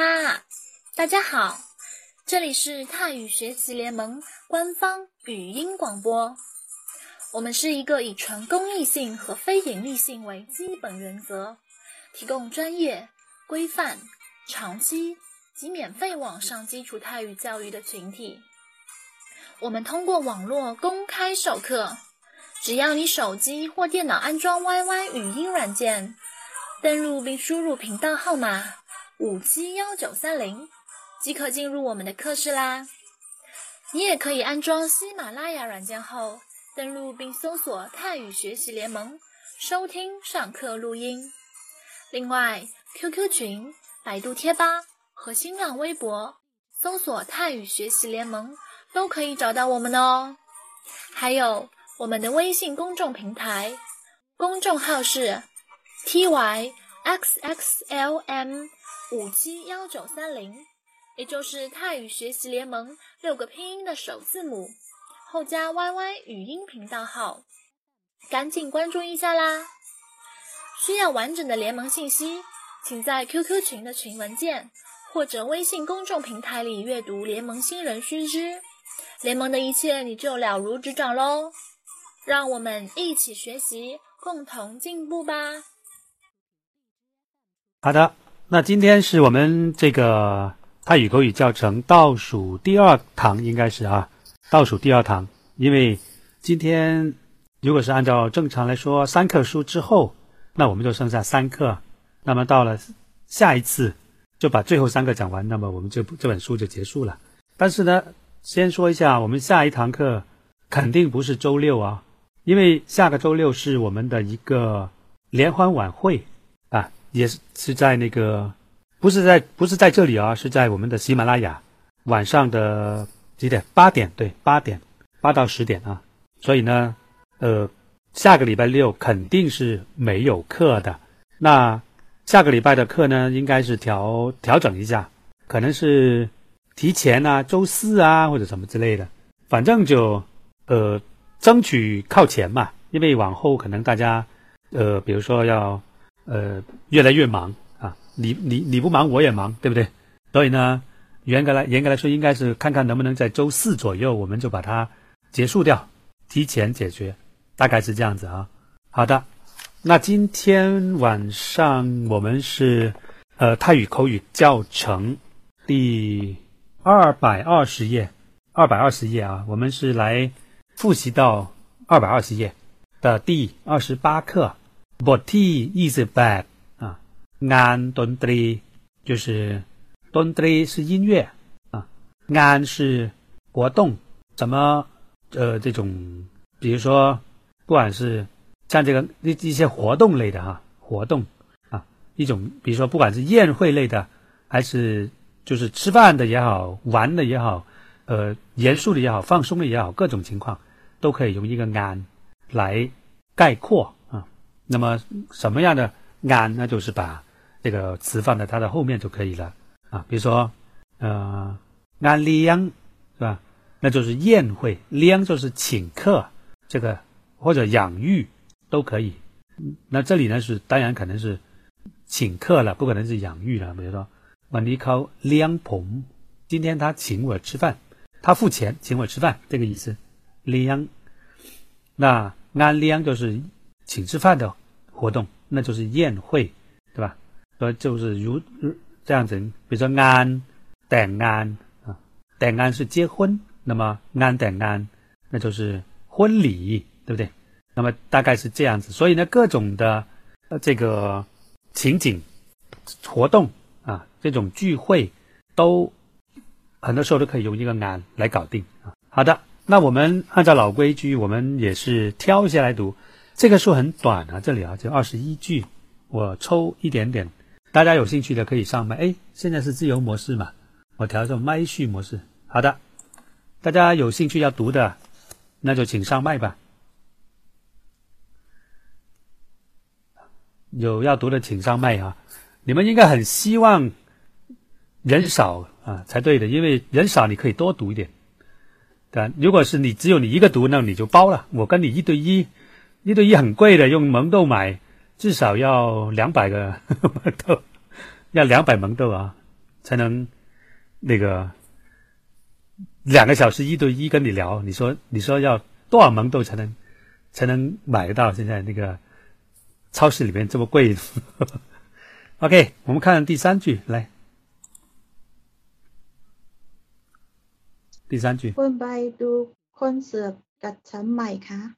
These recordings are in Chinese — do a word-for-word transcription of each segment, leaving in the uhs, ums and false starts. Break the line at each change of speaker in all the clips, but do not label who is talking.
哈，大家好，这里是泰语学习联盟官方语音广播。我们是一个以纯公益性和非盈利性为基本原则，提供专业、规范、长期及免费网上基础泰语教育的群体。我们通过网络公开授课，只要你手机或电脑安装 Y Y 语音软件，登录并输入频道号码五七一九三零，即可进入我们的课室啦。你也可以安装喜马拉雅软件后，登录并搜索泰语学习联盟，收听上课录音。另外 Q Q 群、百度贴吧和新浪微博搜索泰语学习联盟都可以找到我们哦。还有我们的微信公众平台，公众号是 T Y X X L M 五七一九三零，也就是泰语学习联盟六个拼音的首字母，后加 Y Y 语音频道号，赶紧关注一下啦！需要完整的联盟信息，请在 Q Q 群的群文件或者微信公众平台里阅读联盟新人须知，联盟的一切你就了如指掌咯。让我们一起学习，共同进步吧。
好的，那今天是我们这个泰语口语教程倒数第二堂，应该是啊，倒数第二堂。因为今天如果是按照正常来说，三课书之后，那我们就剩下三课。那么到了下一次就把最后三个讲完，那么我们这这本书就结束了。但是呢，先说一下，我们下一堂课肯定不是周六啊，因为下个周六是我们的一个联欢晚会啊，也是是在那个不是在不是在这里啊，是在我们的喜马拉雅，晚上的几点？八点，对，八点，八到十点啊。所以呢，呃，下个礼拜六肯定是没有课的。那下个礼拜的课呢，应该是调调整一下，可能是提前啊，周四啊，或者什么之类的。反正就呃，争取靠前嘛，因为往后可能大家呃，比如说要呃越来越忙啊，你你你不忙我也忙，对不对？所以呢，严格来严格来说，应该是看看能不能在周四左右我们就把它结束掉，提前解决，大概是这样子啊。好的，那今天晚上我们是呃泰语口语教程第二百二十页，二百二十页啊，我们是来复习到二百二十页的第二十八课 บทที่ยี่สิบแปด啊，งานดนตรี就是ดนตรี是音乐啊，งาน是活动，怎么呃这种比如说不管是像这个一些活动类的哈、啊，活动啊，一种比如说不管是宴会类的，还是就是吃饭的也好，玩的也好，呃，严肃的也好，放松的也好，各种情况都可以用一个งาน来概括啊。那么什么样的งาน，那就是把这个词放在它的后面就可以了啊。比如说呃งานเลี้ยง是吧？那就是宴会，เลี้ยง就是请客，这个或者养育都可以。那这里呢是当然可能是请客了，不可能是养育了。比如说วันนี้เขาเลี้ยงผม，今天他请我吃饭，他付钱请我吃饭，这个意思。เลี้ยง，那งานเลี้ยง就是请吃饭的活动，那就是宴会，对吧？所以就是如这样子，比如说งานแต่งงาน啊，แต่งงาน是结婚，那么งานแต่งงาน那就是婚礼，对不对？那么大概是这样子。所以呢，各种的呃这个情景活动啊，这种聚会都很多时候都可以用一个งาน来搞定啊。好的，那我们按照老规矩，我们也是挑一些来读。这个书很短啊，这里啊就二十一句，我抽一点点，大家有兴趣的可以上麦。哎，现在是自由模式嘛，我调成麦序模式。好的，大家有兴趣要读的，那就请上麦吧。有要读的请上麦啊！你们应该很希望人少啊才对的，因为人少你可以多读一点。对，如果是你只有你一个读，那你就包了。我跟你一对一，一对一很贵的，用萌豆买至少要两百个萌豆，要两百萌豆啊， 才能那个两个小时一对一跟你聊。你说你说要多少蒙豆才能才能买得到？现在那个超市里面这么贵。OK， 我们看第三句，来，第三句。
คุณไปดูคอนเสิร์ตกับฉันไหมคะ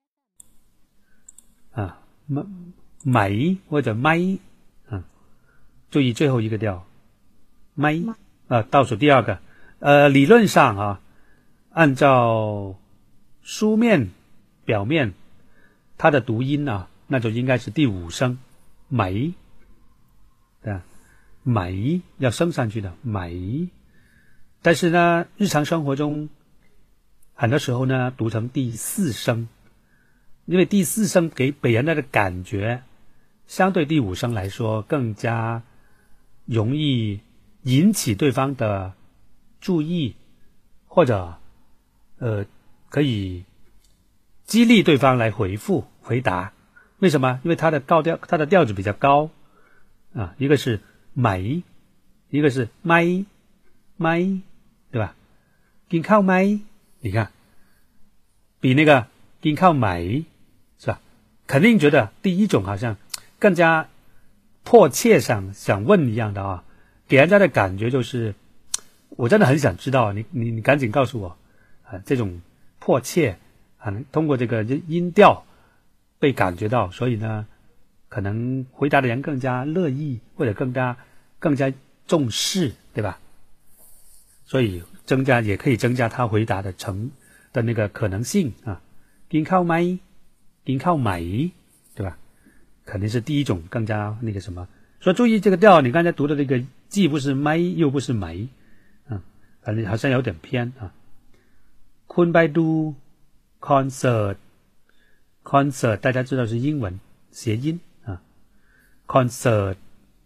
啊，买或者麦啊，注意最后一个调，麦啊，倒数第二个。呃，理论上啊，按照书面表面，它的读音啊，那就应该是第五声，美，对吧？美要升上去的美，但是呢，日常生活中很多时候呢，读成第四声。因为第四声给给人的感觉，相对第五声来说更加容易引起对方的注意，或者呃可以激励对方来回复回答。为什么？因为它的高调，它的调子比较高啊，一个是美，一个是咪咪，对吧？กินข้าวไหม？你看，比那个กินข้าวไหม是吧？肯定觉得第一种好像更加迫切想想问一样的啊，给人家的感觉就是我真的很想知道，你你你赶紧告诉我啊，这种迫切啊，通过这个音调被感觉到，所以呢，可能回答的人更加乐意，或者更加更加重视，对吧？所以增加也可以增加他回答的成的那个可能性啊。กินข้าวไหมกินข้าวไหม，对吧？肯定是第一种更加那个什么。所以注意这个调，你刚才读的这个既不是咪又不是ไห啊，反正好像有点偏啊。คุณไปดูคอนเสิร์ต concert 大家知道是英文谐音啊 concert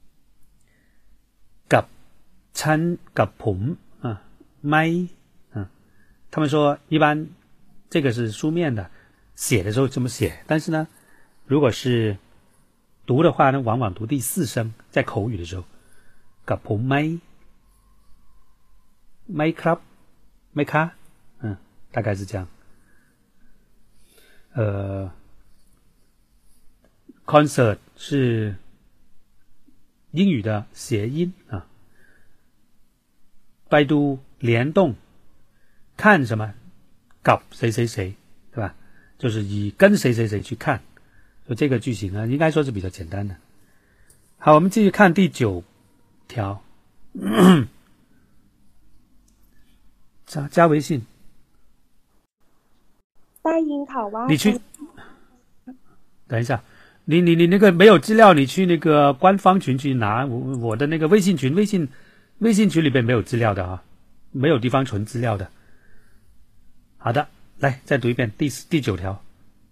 กับฉันกับผม啊ไหม啊，他们说一般这个是书面的，写的时候这么写，但是呢，如果是读的话呢，往往读第四声，在口语的时候，กับผมไหมไหมครับไหมคะ嗯，大概是这样。呃 concert 是英语的谐音啊，拜读联动，看什么กับ谁谁谁，对吧？就是以跟谁谁谁去看，所以这个句型呢，应该说是比较简单的。好，我们继续看第九条，加加微信。
ได้ยินข่าวว่า
你去，等一下，你你你那个没有资料，你去那个官方群去拿。我我的那个微信群，微信微信群里边没有资料的啊，没有地方存资料的。好的，来再读一遍第第九条。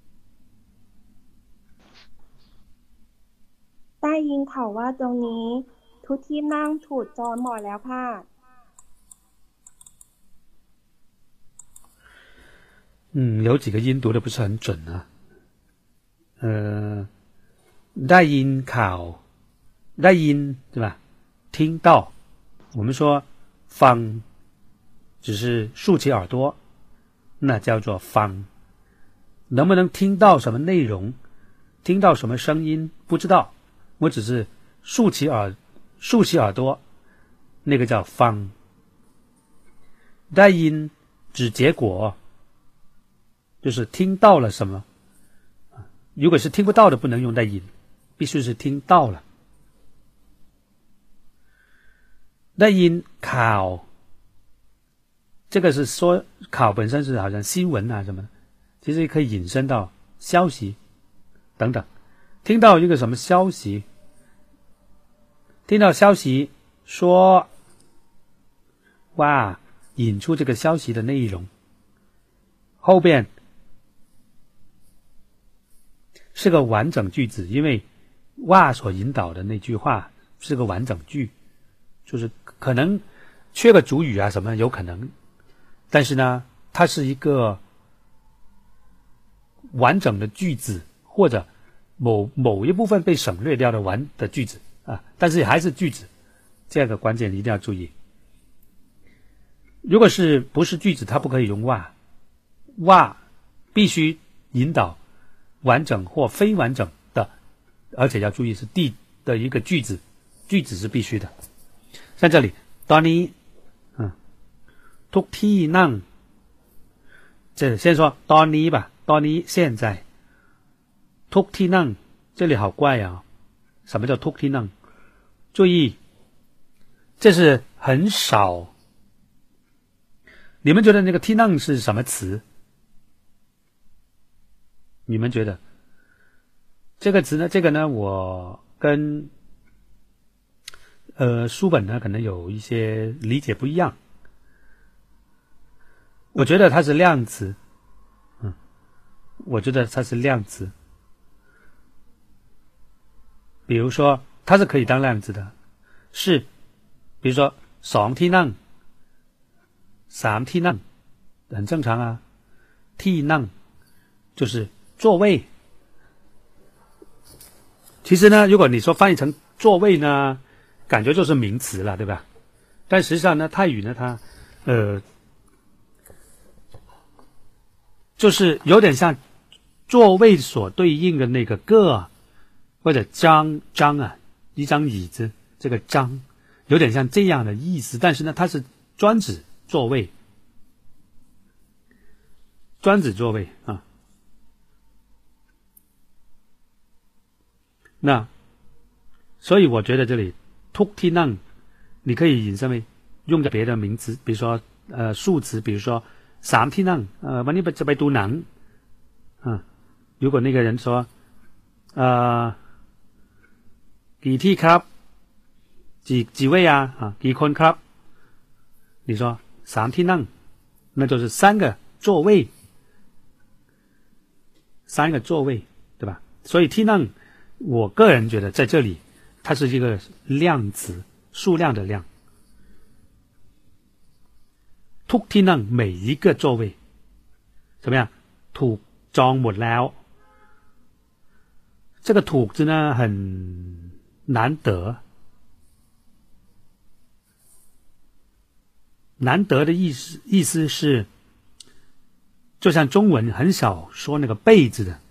ได้ยินข่าวว่าตรงนี้ทุกที่นั่งถูกจองหมดแล้วค่ะ
嗯，有几个音读的不是很准啊。呃，ได้ยินข่าวได้ยิน对吧？听到，我们说ฟัง只是竖起耳朵，那叫做ฟัง。能不能听到什么内容，听到什么声音，不知道。我只是竖起耳竖起耳朵，那个叫ฟัง。ได้ยิน指结果，就是听到了什么。如果是听不到的，不能用ได้ยิน，必须是听到了。ได้ยินข่าว，这个是说ข่าว本身是好像新闻啊什么的，其实也可以引申到消息等等。听到一个什么消息，听到消息说哇，引出这个消息的内容，后边是个完整句子，因为哇所引导的那句话是个完整句，就是可能缺个主语啊什么有可能，但是呢它是一个完整的句子，或者某某一部分被省略掉的完的句子啊，但是还是句子这个关键一定要注意。如果是不是句子，它不可以用哇，哇必须引导完整或非完整的，而且要注意是第的一个句子，句子是必须的。像这里ตอนนี้嗯ทุกที่นั่ง这先说ตอนนี้吧，ตอนนี้现在ทุกที่นั่ง这里好怪啊，什么叫ทุกที่นั่ง？注意，这是很少。你们觉得那个ที่นั่ง是什么词？你们觉得这个词呢？这个呢，我跟呃书本呢可能有一些理解不一样。我觉得它是量词，嗯，我觉得它是量词。比如说，它是可以当量词的，是，比如说สองที่นั่งสามที่นั่ง很正常啊。ที่นั่ง就是座位。其实呢，如果你说翻译成座位呢，感觉就是名词了，对吧？但实际上呢，泰语呢，它呃，就是有点像座位所对应的那个个或者张张啊，一张椅子，这个张有点像这样的意思，但是呢，它是专指座位，专指座位啊。那所以我觉得这里 ทุกที่นั่ง你可以引申为用在别的名词，比如说呃数词，比如说สามที่นั่ง呃วันนี้จะไปดูหนัง啊，如果那个人说呃กี่ที่ครับ几几位啊啊กี่คนครับ，你说สามที่นั่ง那就是三个座位，三个座位，对吧？所以ที่นั่ง我个人觉得在这里它是一个量词，数量的量。ทุกที่นั่ง每一个座位怎么样？ถูกจองหมดแล้ว。这个ถูก字呢很难得，难得的意思意思是，就像中文很少说那个被字的，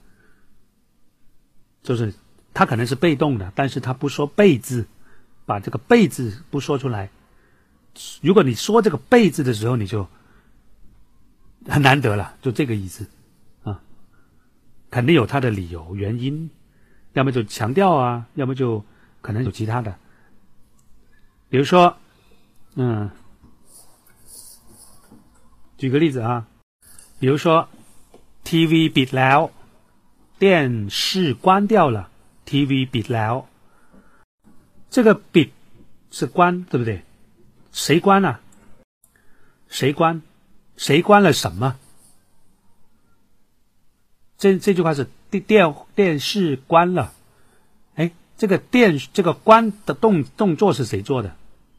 就是它可能是被动的，但是它不说被字，把这个被字不说出来。如果你说这个被字的时候，你就很难得了，就这个意思啊，肯定有它的理由原因，要么就强调啊，要么就可能有其他的。比如说，嗯，举个例子啊，比如说 T V ปิดแล้ว，电视关掉了。T V ปิดแล้ว，这个ปิด是关，对不对？谁关啊？谁关？谁关了什么？这这句话是电电视关了。哎，这个电这个关的动动作是谁做的？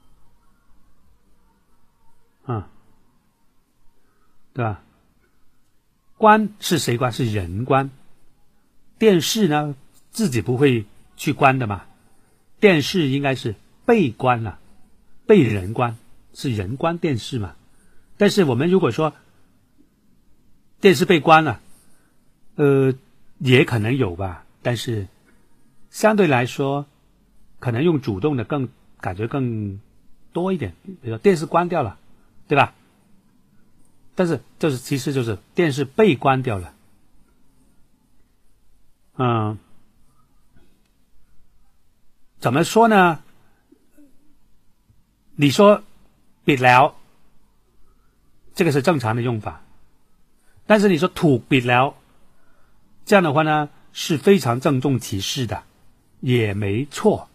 啊，对吧？关是谁关？是人关。电视呢？自己不会去关的嘛，电视应该是被关了，被人关，是人关电视嘛。但是我们如果说电视被关了，呃，也可能有吧，但是相对来说，可能用主动的更感觉更多一点。比如说电视关掉了，对吧？但是就是其实就是电视被关掉了，嗯。怎么说呢？你说ปิดแล้ว这个是正常的用法，但是你说ถูกปิดแล้ว这样的话呢是非常郑重其事的，也没错。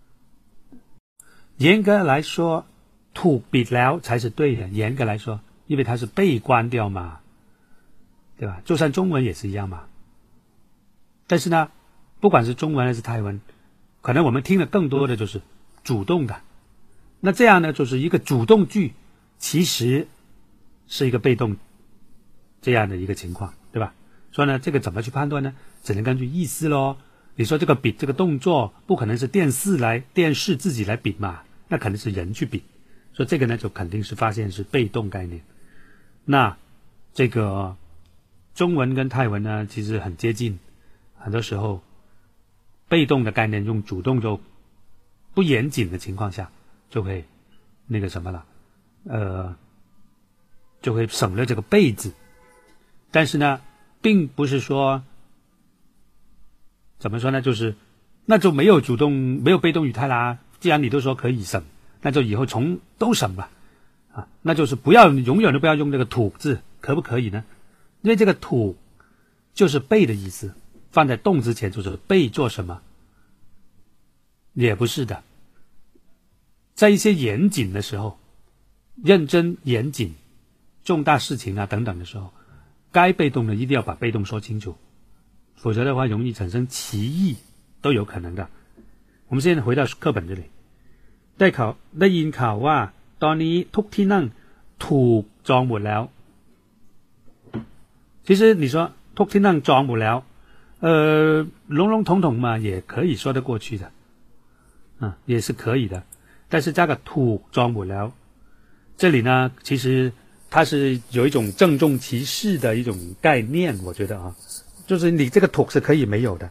严格来说ถูกปิดแล้ว才是对的，严格来说，因为它是被关掉嘛，对吧？就算中文也是一样嘛。但是呢，不管是中文还是泰文，可能我们听的更多的就是主动的，那这样呢，就是一个主动句，其实是一个被动这样的一个情况，对吧？所以呢，这个怎么去判断呢？只能根据意思咯。你说这个比这个动作不可能是电视来电视自己来比嘛， 那肯定是人去比，所以这个呢就肯定是发现是被动概念。那这个中文跟泰文呢其实很接近，很多时候被动的概念用主动就不严谨的情况下就会那个什么了，呃就会省略这个被字。但是呢并不是说怎么说呢，就是那就没有主动没有被动语态啦，既然你都说可以省，那就以后从都省吧啊，那就是不要永远都不要用这个土字，可不可以呢？因为这个土就是被的意思，放在动之前就是被做什么，也不是的。在一些严谨的时候，认真严谨重大事情啊等等的时候，该被动的一定要把被动说清楚，否则的话容易产生歧义，都有可能的。我们现在回到课本这里，ได้ข่าวได้ยินข่าวว่าตอนนี้ทุกที่นั่งถูกจองหมดแล้ว。其实你说ทุกที่นั่งจองหมดแล้ว呃笼笼统统嘛也可以说得过去的啊，也是可以的，但是加个ถูกจองหมดแล้ว这里呢其实它是有一种郑重其事的一种概念，我觉得啊，就是你这个ถูก是可以没有的。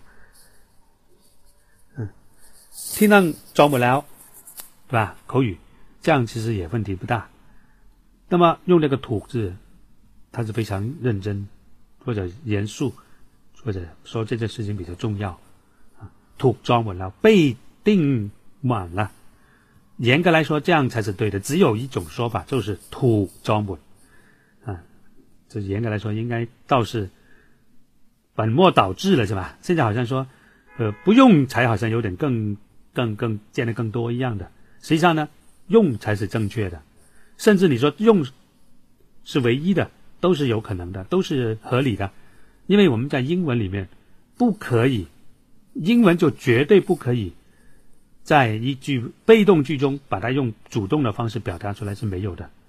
嗯，ที่นั่งจองหมดแล้ว对吧，口语这样其实也问题不大。那么用这个ถูก字它是非常认真或者严肃，或者说这件事情比较重要啊，ถูกจองหมดแล้ว被订满了，严格来说这样才是对的，只有一种说法就是ถูกจองหมด啊，这严格来说应该倒是本末倒置了是吧？现在好像说呃不用才好像有点更更更见得更多一样的，实际上呢用才是正确的，甚至你说用是唯一的都是有可能的，都是合理的，因为我们在英文里面不可以，英文就绝对不可以在一句被动句中把它用主动的方式表达出来，是没有的，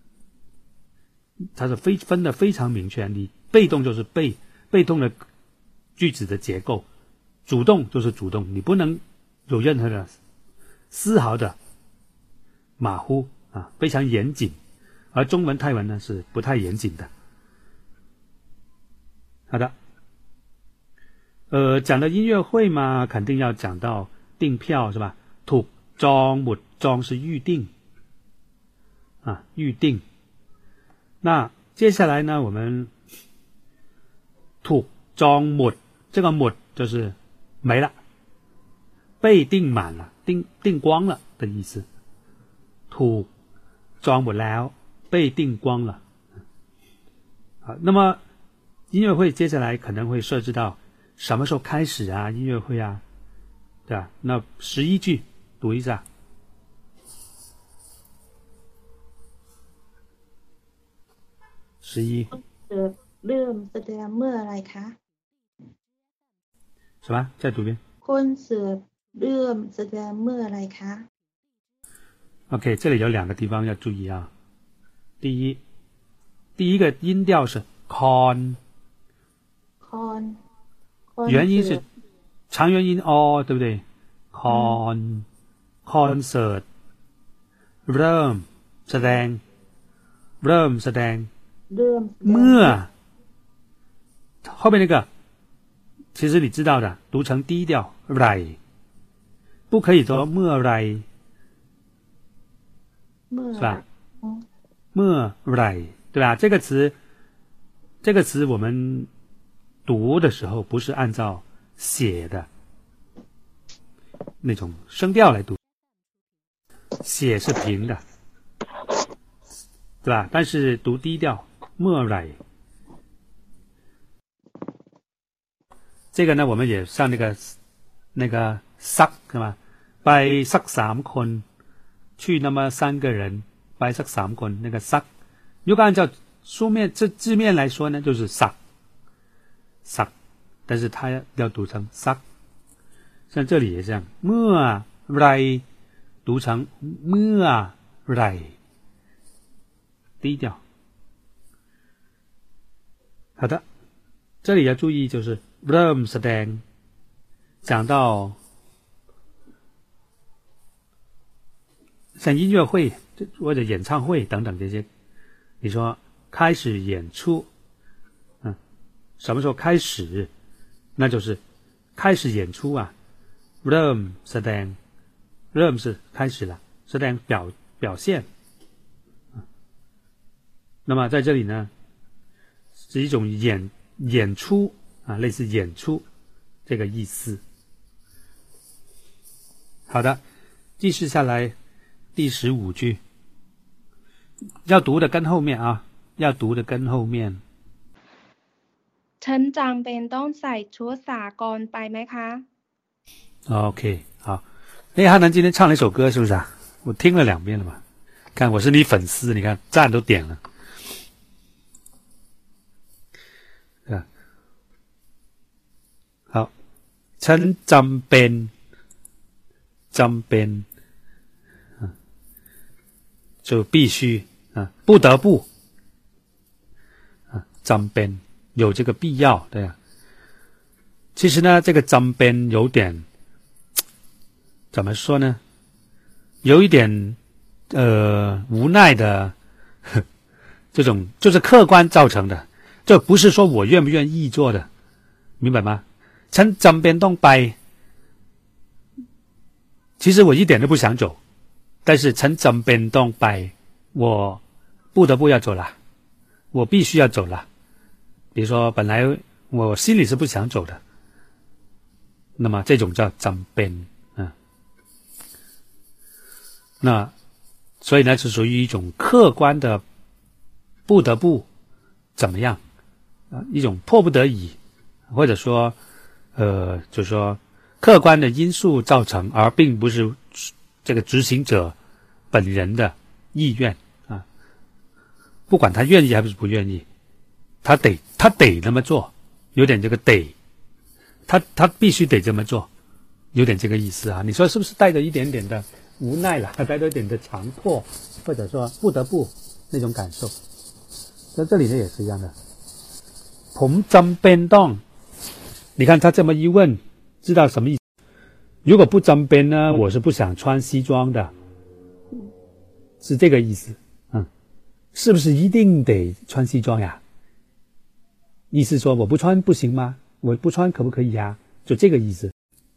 它是非分的非常明确，你被动就是被被动的句子的结构，主动就是主动，你不能有任何的丝毫的马虎啊，非常严谨。而中文泰文呢是不太严谨的。好的，呃，讲到音乐会嘛，肯定要讲到订票是吧？ถูกจองหมด，จอง是预定啊，预定。那接下来呢，我们ถูกจองหมด，这个หมด就是没了，被订满了，订订光了的意思。ถูกจองหมดแล้ว被订光了。好，那么音乐会接下来可能会设置到什么时候开始啊？音乐会啊，对吧？那十一句读一下。十一。
เริ่มแสดงเมื่อไรคะ
什么？再读一遍。
คอนเสิร์ตเริ่มแสดงเมื่อไรคะ
OK， 这里有两个地方要注意啊。第一，第一个音调是 con，
con，
元音是长元音 o， 对不对 ？con concert เริ่มแสดงเริ่มแสดง
เริ่ม
เมื่อ后面那个其实你知道的，读成低调ไร不可以说เมื่อไร是吧？เมื่อไร对吧？这个词这个词我们读的时候不是按照写的那种声调来读，写是平的对吧？但是读低调เมื่อไร这个呢我们也上那个那个ซัก是吧？ไปสักสามคน去那么三个人ไปสักสามคน那个ซัก如果按照书面这字面来说呢就是ซักซัก但是它要读成ซัก像这里也这样เมื่อไร读成เมื่อไร低调。好的，这里要注意就是เริ่มแสดง讲到像音乐会或者演唱会等等这些，你说开始演出，嗯，什么时候开始？那就是开始演出啊 ，rum แสดง rum 是开始了，แสดง表表现。那么在这里呢，是一种演演出啊，类似演出这个意思。好的，继续下来第十五句，要读的跟后面啊，要读的跟后面。
ฉันจำเป็นต้องใส่ชุดสากลไปไหมคะ
？OK， 好。哎，汉南今天唱了一首歌，是不是啊？我听了两遍了嘛。看，我是你粉丝，你看赞都点了。啊，好，ฉันจำเป็นจำเป็น啊，就必须啊，不得不啊，จำเป็น有这个必要，对啊。其实呢，这个จำเป็น有点怎么说呢？有一点呃无奈的呵这种，就是客观造成的，这不是说我愿不愿意做的，明白吗？ฉันจำเป็นต้องไป其实我一点都不想走，但是ฉันจำเป็นต้องไป我不得不要走了，我必须要走了。比如说本来我心里是不想走的，那么这种叫จำเป็น啊。那所以呢是属于一种客观的不得不怎么样啊，一种迫不得已，或者说呃就是说客观的因素造成，而并不是这个执行者本人的意愿啊。不管他愿意还是不愿意，他得他得那么做，有点这个得，他他必须得这么做，有点这个意思啊。你说是不是带着一点点的无奈了，带着一点的强迫，或者说不得不那种感受？在这里呢也是一样的。ผมจำเป็นต้อง，你看他这么一问，知道什么意思？如果不จำเป็น呢，我是不想穿西装的，是这个意思。嗯，是不是一定得穿西装呀？意思说我不穿不行吗？我不穿可不可以呀？就这个意思。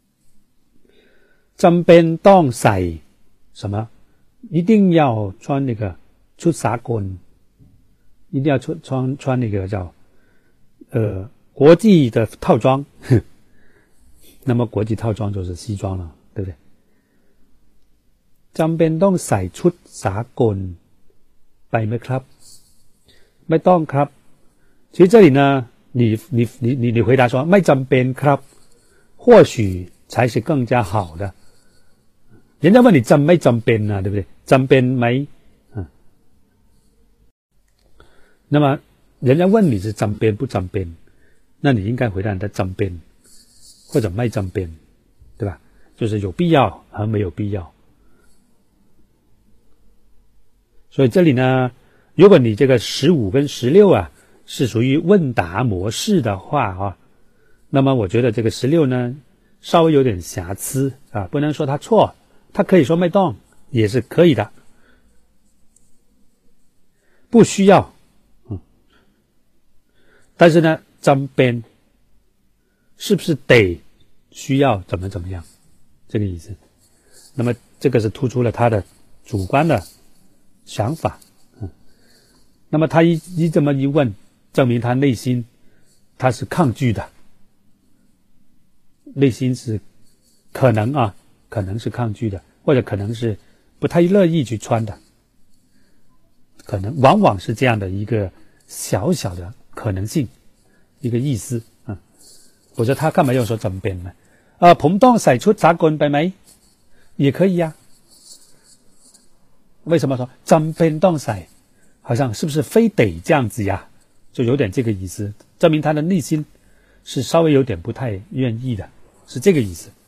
จำเป็นต้องใส่什么？一定要穿那个ชุดสากล，一定要穿穿穿那个叫呃国际的套装。那么国际套装就是西装了，对不对？จำเป็นต้องใส่ชุดสากลไปไหมครับ？ไม่ต้องครับ。其实这里呢，你你你你你回答说ไม่จำเป็นครับ，或许才是更加好的。人家问你จำไม่จำเป็น啊，对不对？จำเป็นไหม？嗯，那么人家问你是จำเป็น不จำเป็น，那你应该回答他จำเป็น或者ไม่จำเป็น，对吧？就是有必要和没有必要。所以这里呢，如果你这个十五跟十六啊是属于问答模式的话啊，那么我觉得这个十六呢稍微有点瑕疵啊，不能说他错，他可以说ไม่ต้อง也是可以的，不需要，嗯，但是呢จำเป็น是不是得需要怎么怎么样，这个意思。那么这个是突出了他的主观的想法，嗯，那么他一一这么一问，证明他内心他是抗拒的，内心是可能啊，可能是抗拒的，或者可能是不太乐意去穿的，可能往往是这样的一个小小的可能性，一个意思啊。否则他干嘛要说จำเป็น呢？啊，ผมต้องใส่ชุดสากลไปไหม？也可以呀。为什么说จำเป็นต้องใส่？好像是不是非得这样子呀？就有点这个意思，证明他的内心是稍微有点不太愿意的，是这个意思。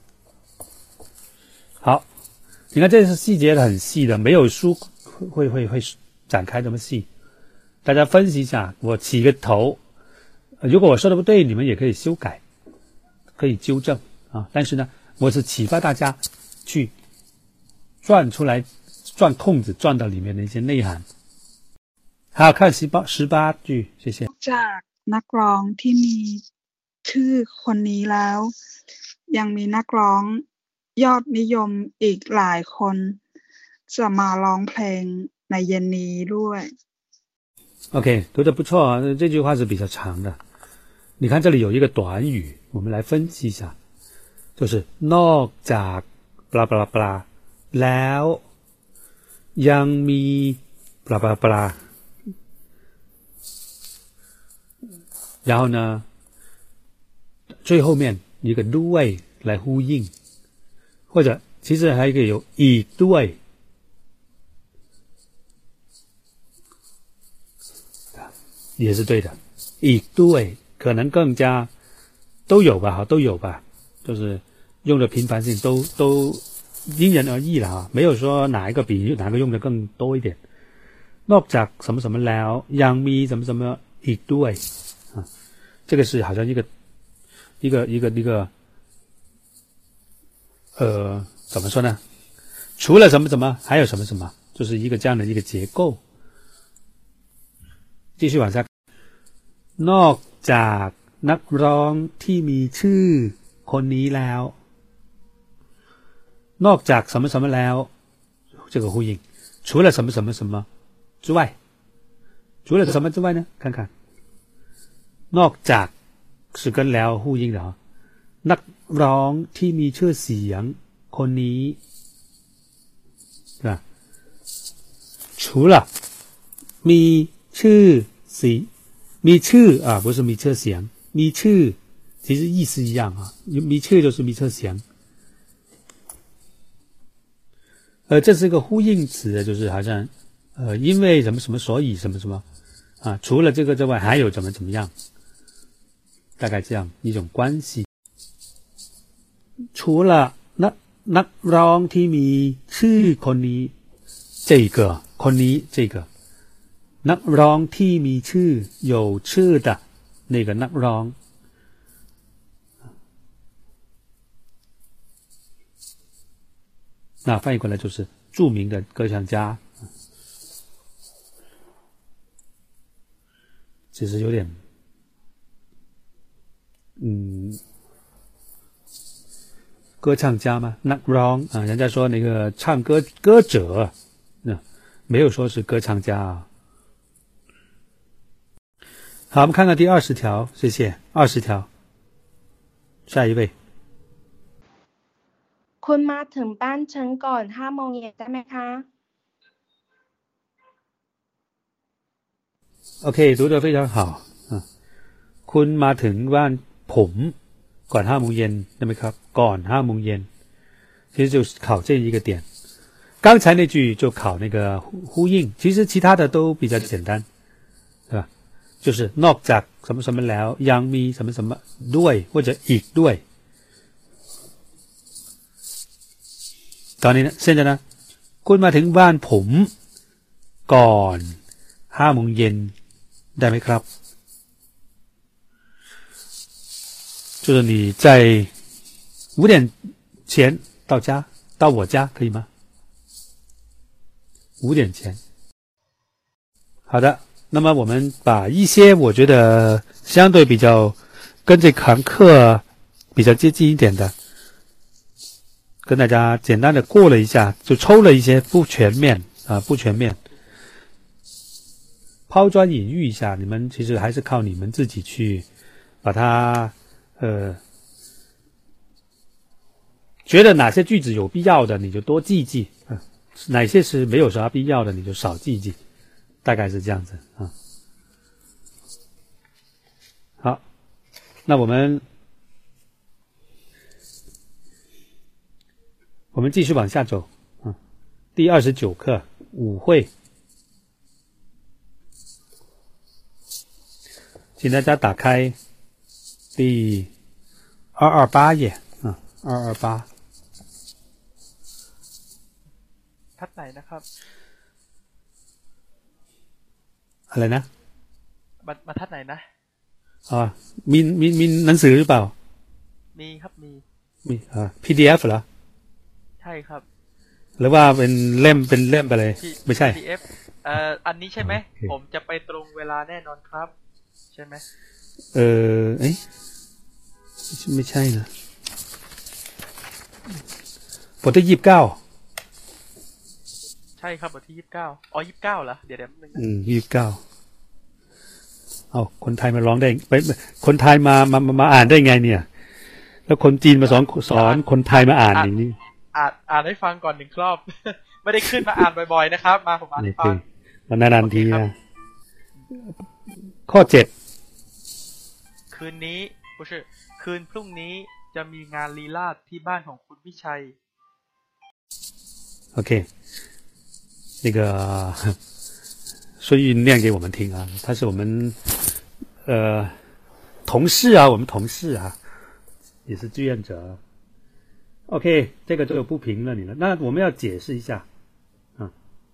好，你看这是细节很细的，没有书会会会展开这么细。大家分析一下，我起个头，如果我说的不对，你们也可以修改，可以纠正啊。但是呢，我是启发大家去转出来， 钻空子钻到里面的一些内涵。好，看十八十八句，谢谢。
จากนักร้องที่มีชื่อคนนี้แล้วยังมีนักร้องยอดนิยมอีกหลายคนจะมาร้องเพลงในเย็นนี้ด้วย
OK， 读得不错啊，这句话是比较长的。你看这里有一个短语，我们来分析一下，就是นอกจากบลาบลาบลาแล้วยังมีบลาบลาบลา然后呢最后面一个ด้วย来呼应，或者其实还可以有อีกด้วย也是对的，อีกด้วย可能更加都有吧，都有吧，就是用的频繁性都都因人而异了啊，没有说哪一个比哪个用的更多一点。นอกจาก什么什么แล้วยังมี什么什么อีกด้วย啊，这个是好像一个一个一个一个呃怎么说呢？除了什么什么还有什么什么，就是一个这样的一个结构。继续往下。นอกจากนักร้องที่มีชื่อคนนี้แล้วนอกจาก什么什么แล้ว这个呼应除了什么什么什么之外除了什么之外呢看看นอกจาก是跟แล้ว呼应的啊นักร้องที่มีชื่อเสียงคนนี้是吧除了มีชื่อสีมีชื่อ啊不是มีชื่อเสียงมีชื่อ其实意思一样啊มีชื่อ就是มีชื่อเสียง呃这是一个呼应词就是好像呃因为什么什么所以什么什么啊除了这个之外还有怎么怎么样大概这样一种关系除了นักนักร้องที่มีชื่อคนนี้这个คนนี้这个นักร้องที่มีชื่อ有ชื่อ的那个นักร้อง那翻译过来就是著名的歌唱家其实有点嗯歌唱家吗นักร้อง啊人家说那个唱歌歌者那没有说是歌唱家啊好我们看看第二十条谢谢二十条下一位
คุณมาถึงบ้านฉันก่อนห้าโมงเย็นได้ไหมคะ
OK 读得非常好啊คุณมาถึงบ้านผมก่อนห้าโมงเย็นได้ไหมครับก่อนห้าโมงเย็น其实就是考这一个点刚才那句就考那个呼应其实其他的都比较简单对吧就是นอกจาก什么什么แล้วยังมี什么什么ด้วย或者อีกด้วยตอนนี้呢现在呢คุณมาถึงบ้านผมก่อนห้าโมงเย็นได้ไหมครับ就是你在五点前到家到我家可以吗五点前好的那么我们把一些我觉得相对比较跟这堂课比较接近一点的跟大家简单的过了一下就抽了一些不全面啊不全面抛砖引玉一下你们其实还是靠你们自己去把它呃觉得哪些句子有必要的你就多记记啊哪些是没有啥必要的你就少记记大概是这样子啊好那我们我们继续往下走啊第二十九课舞会请大家打开第二二八页啊二二八
ทัดไหนนะครับ
อะไรนะ
บรรทัดไหนนะ
อ๋อมีมีมีหนังสือหรือเปล่า
มีครับมี
มีอ่า พี ดี เอฟ เหรอ
ใช่ครับ
อหรือว่าเป็นเล่มเป็นเล่มไปเลย
ที่
ไม่ใช่
พี ดี เอฟ เอ่ออันนี้ใช่ไหม
โอเค
ผมจะไปตรงเวลาแน่นอนครับ ใช่ไหม
เออเอ้ยไม่ใช่นะบทที่ยี่สิบเก้า
ใช่ครับบทที่ยี่สิบเก้าอ๋อยี่สิบเก้าเหรอเดี๋ยวเดี๋ยวนึงนะ
อืมยี่สิบเก้าเอาคนไทยมาร้องได้ไปคนไทยมามามามาอ่านได้ไงเนี่ย แล้วคนจีนมาสอนสอนคนไทยมาอ่านอย่างนี้
อ่านอ่านให้ฟังก่อนหนึ่งรอบ ไม่ได้ขึ้นมาอ่านบ่อยๆนะครับ มาผมอ่าน
โอ
ให้
เค
ฟัง
มันนานๆที
โอเคครั
นะ
บ
ข้อเจ็ด
คืนนี้不是คืนพรุ่งนี้จะมีงานลีลาศที่บ้านของคุณวิชัย
OK，那个孙玉念给我们听啊，他是我们呃同事啊，我们同事啊，也是志愿者。OK， 这个就不评论你了。那我们要解释一下啊。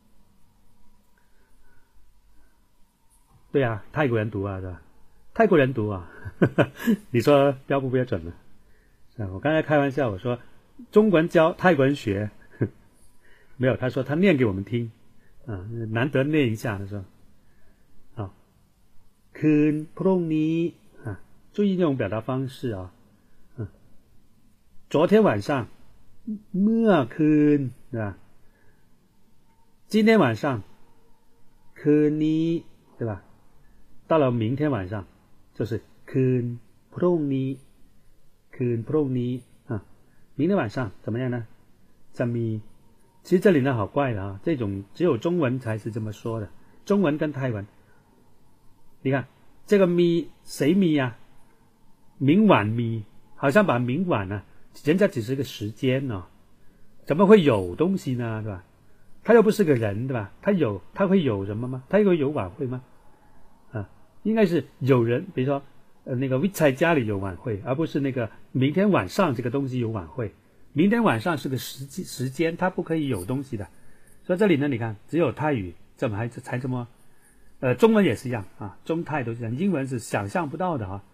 对啊，泰国人读啊，是吧？泰国人读啊，你说标不标准呢？啊，我刚才开玩笑，我说中国人教泰国人学。没有，他说他念给我们听，啊，难得念一下，他说，好，คืนพรุ่งนี้啊，注意这种表达方式啊，嗯，昨天晚上，เมื่อคืน，对吧？今天晚上，คืนนี้，对吧？到了明天晚上，就是คืนพรุ่งนี้，คืนพรุ่งนี้啊，明天晚上怎么样呢？จะมี。其实这里呢好怪的啊，这种只有中文才是这么说的，中文跟泰文，你看这个咪谁咪呀、啊？明晚咪，好像把明晚呢、啊，人家只是个时间哦，怎么会有东西呢？对吧？他又不是个人，对吧？他有他会有什么吗？他会有晚会吗？啊，应该是有人，比如说呃那个วิชัย家里有晚会，而不是那个明天晚上这个东西有晚会。明天晚上是个时时间，它不可以有东西的，所以这里呢，你看只有泰语这么还才这么，呃，中文也是一样啊，中泰都是这样，英文是想象不到的啊。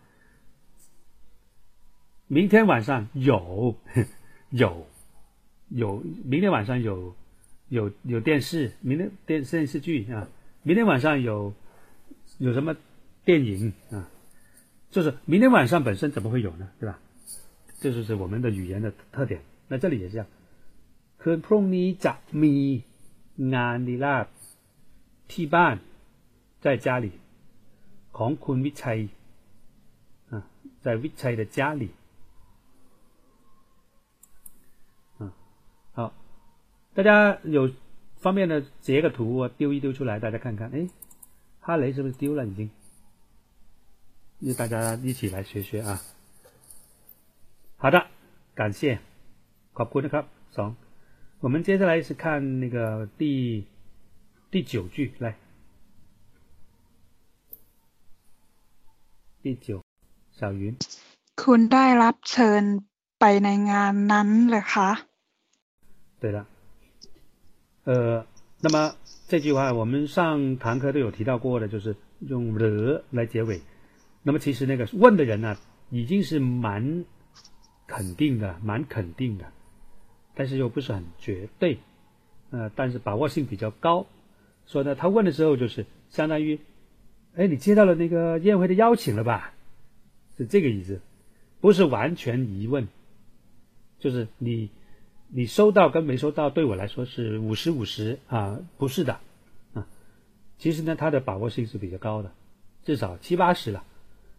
明天晚上有有有，明天晚上有有有电视，明天电电视剧啊，明天晚上有有什么电影啊，就是明天晚上本身怎么会有呢？对吧？这就是我们的语言的特点。那这里也是这样。คืนพรุ่งนี้จะมีงานลีลาศที่บ้าน在家里ของคุณวิชัย啊，在วิชัย的家里啊，好，大家有方便的截个图我丢一丢出来，大家看看，哎，哈雷是不是丢了已经？大家一起来学学啊。好的，感谢。ขอบคุณนะครับสอง我们接下来是看那个第第九句来第九小云
คุณได้รับเชิญไปในงานนั้นเหรอคะ
对了呃那么这句话我们上堂课都有提到过的，就是用了来结尾。那么其实那个问的人呢、啊、已经是蛮肯定的蛮肯定的，但是又不是很绝对，呃，但是把握性比较高。说呢，他问的时候就是相当于，哎，你接到了那个宴会的邀请了吧？是这个意思，不是完全疑问，就是你你收到跟没收到对我来说是五十五十啊，不是的啊。其实呢，他的把握性是比较高的，至少七八十了，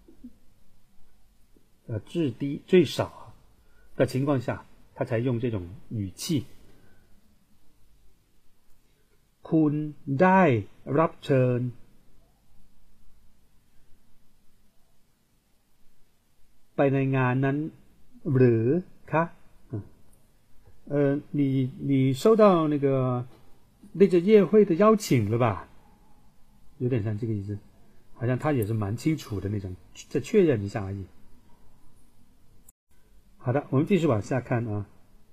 呃，至低最少的情况下。他才用这种语气คุณได้รับเชิญไปในงานนั้นหรือคะ呃你你收到那个那个宴会的邀请了吧，有点像这个意思，好像他也是蛮清楚的那种，再确认一下而已。好的，我们继续往下看啊。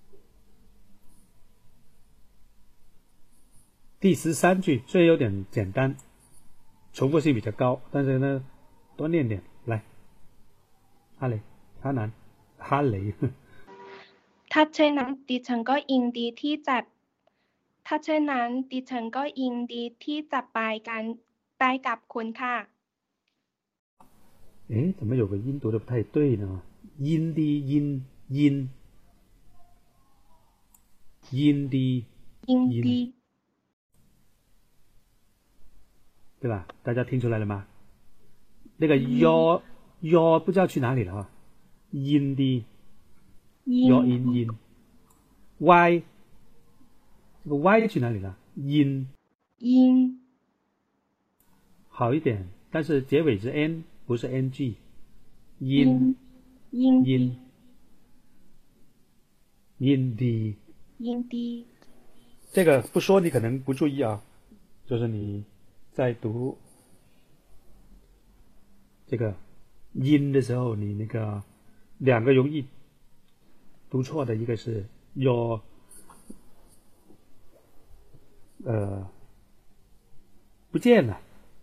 第十三句虽然有点简单，重复性比较高，但是呢，多念点来。哈雷，哈南，哈雷。
ถ้าเช่นนั้นดิฉันก็ยินดีที่จะถ้าเช่นนั้นดิฉันก็ยินดีที่จะไปกันไปกับคุณค่ะ
诶，怎么有个音读的不太对呢？音的音音音的
ยิน
音，
ดี
对吧？大家听出来了吗？那个腰腰不知道去哪里了啊？音的
ยิ
腰
น
音音 y 这个 y 去哪里了？音
ยิน
好一点，但是结尾是 n 不是 ng，
ยิน
音
ยินดี
音音的。
ยินดี
这个不说你可能不注意啊，就是你在读这个音的时候，你那个两个容易读错的，一个是 your 呃不见了，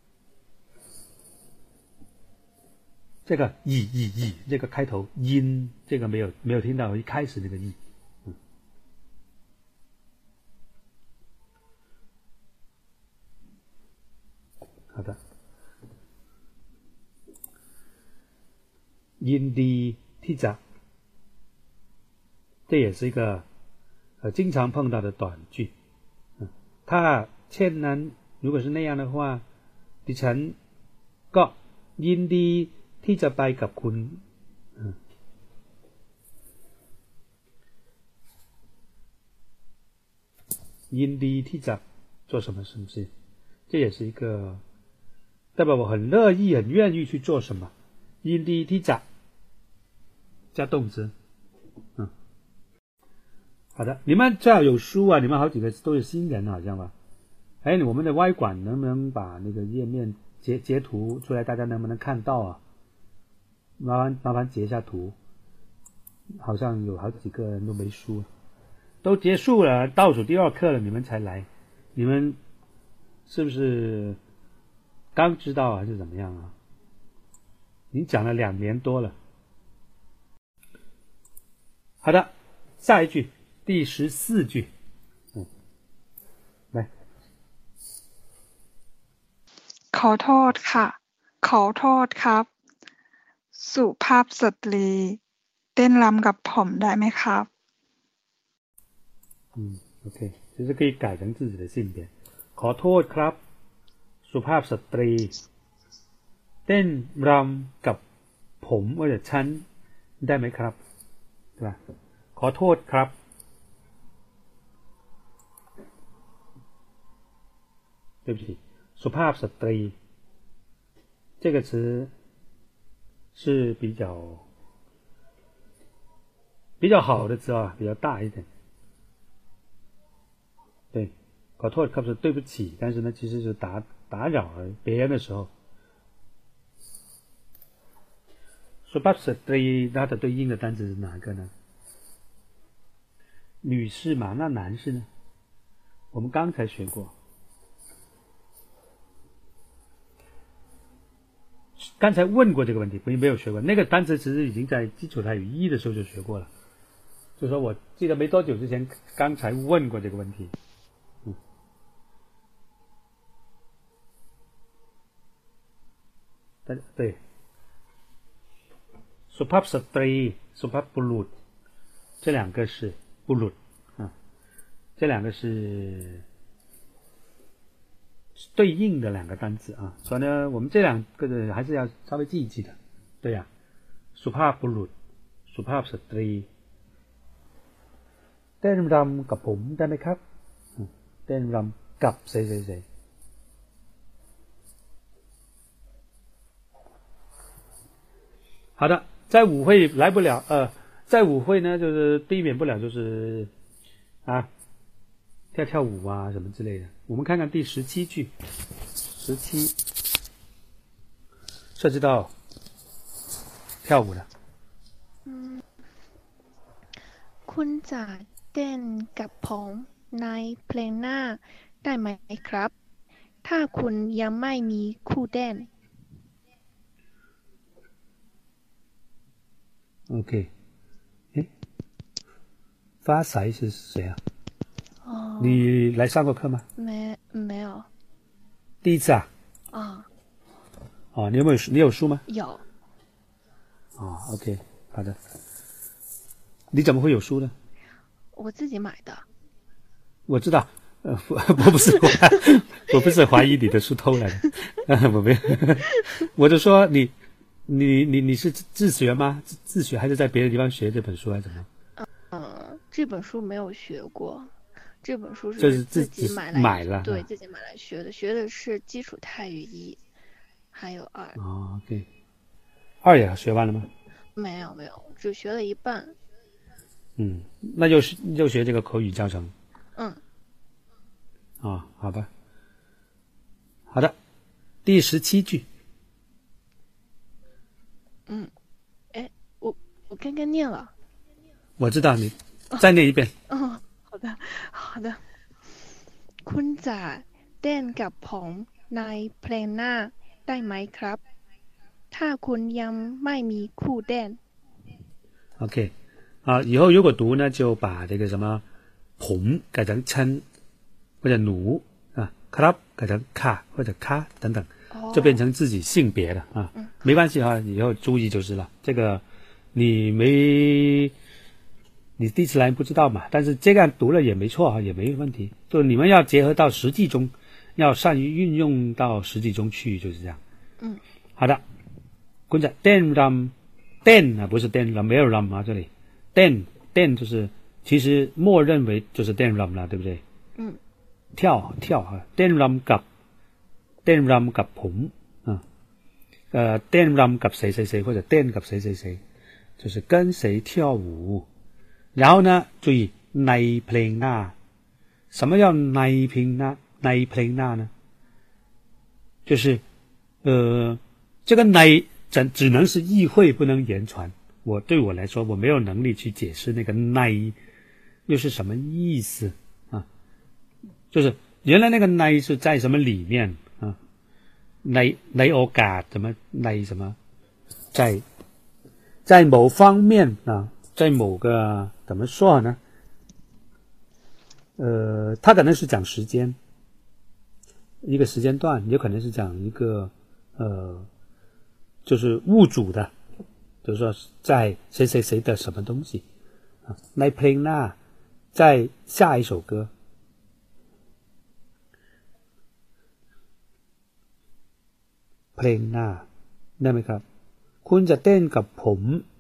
这个以以以这个开头音，这个没有没有听到一开始那个 e。好的，ยินดีที่จะ这也是一个呃经常碰到的短句。嗯，ถ้าเช่นนั้น如果是那样的话ดิฉันก็ยินดีที่จะไปกับคุณ嗯ยินดีที่จะ做什么什么事，这也是一个代表我很乐意很愿意去做什么。ยินดีที่จะ加动词。嗯，好的，你们最好有书啊，你们好几个都是新人好像吧。哎，我们的 Y 馆能不能把那个页面截截图出来，大家能不能看到啊？麻烦麻烦截一下图，好像有好几个人都没书，都结束了，倒数第二课了，你们才来，你们是不是刚知道还是怎么样啊？已经讲了两年多了。好的，下一句，第十四句，嗯，来，
ขอโทษค่ะขอโทษครับสุภาพสตรีเต้นรำกับผมได้ไหมครับ
嗯 ，OK， 其实可以改成自己的性别。ขอโทษครับสุภาพสตรีเต้นรำกับผมว่าจะฉันได้ไหมครับ对吧？ขอโทษครับ对不起，สุภาพสตรี这个词是比较比较好的词啊，比较大一点。对，ขอโทษครับ是对不起，但是呢，其实是打打扰别人的时候。สุภาพสตรี它的对应的单词是哪个呢？女士嘛，那男士呢？我们刚才学过，刚才问过这个问题，没有学过。那个单词其实已经在基础泰语一的时候就学过了，就说我记得没多久之前刚才问过这个问题。嗯，对对。สุภาพสตรีสุภาพบุรุษ这两个是บุรุษ啊，这两个是对应的两个单词啊，所以呢，我们这两个还是要稍微记一记的。对呀、啊，สุภาพบุรุษสุภาพสตรีเต้นรำกับผมได้ไหมครับเต้นรำกับ谁谁谁好的。在舞会来不了，呃，在舞会呢，就是避免不了就是啊，跳跳舞啊什么之类的。我们看看第十七句，十七涉及到跳舞的。
嗯，คุณจะเต้นกับผมในเพลงหน้าได้ไหมครับถ้าคุณยังไม่มีคู่เต้น
OK， 诶，发财是谁啊？
哦，
你来上过课吗？
没没有
第一次啊？
啊？
哦，你有没有你有书吗？
有，
哦 ，OK， 好的。你怎么会有书呢？
我自己买的。
我知道，呃，我我不是我不是怀疑你的书偷来的，呃、我没有，我就说你你你你是自学吗？自自学还是在别的地方学这本书还是怎么？
嗯，这本书没有学过，这本书
就是
自
己
买来
买了，
对，自己买来学的，学的是基础泰语一，还有二。
哦 ，OK， 二也学完了吗？
没有没有，只学了一半。
嗯，那又是又学这个口语教程。
嗯。
啊、哦，好吧。好的，第十七句。
嗯，哎，我我刚刚念了。
我知道，你再念一遍。
哦，好的好的。คุณจะเต้นกับผมในเพลงหน้าได้ไหมครับถ้าคุณยังไม่มีคู่เต้น
OK， 啊，以后如果读呢，就把这个什么ผม改成称或者奴啊，ครับ改成卡或者卡等等，就变成自己性别了啊。
嗯，
没关系啊，以后注意就是了。这个你没你第一次来不知道嘛，但是这样读了也没错啊，也没问题。就你们要结合到实际中，要善于运用到实际中去，就是这样。
嗯，
好的。คุณจะเต้นรำเต้น啊，不是เต้นรำ没有รำ啊，这里เต้นเต้น就是其实默认为就是เต้นรำ了，对不对？
嗯，
跳跳啊，เต้นรำกับเต้นรำกับผม啊，呃，เต้นรำกับ谁谁谁或者เต้นกับ谁谁谁，就是跟谁跳舞。然后呢，注意ในเพลงหน้า，什么叫ในเพลงหน้า？ในเพลงหน้า呢？就是呃，这个ใน只只能是意会，不能言传。我对我来说，我没有能力去解释那个ใน又是什么意思啊？就是原来那个ใน是在什么里面啊？ในในโอกาส怎么ใน什么？在在某方面啊，在某个怎么说呢？呃，他可能是讲时间，一个时间段，也可能是讲一个呃。就是物主的，比如说在谁谁谁的什么东西啊，ในเพลงหน้า在下一首歌，เพลงหน้าได้ไหมครับคุณจะเต้นกับผม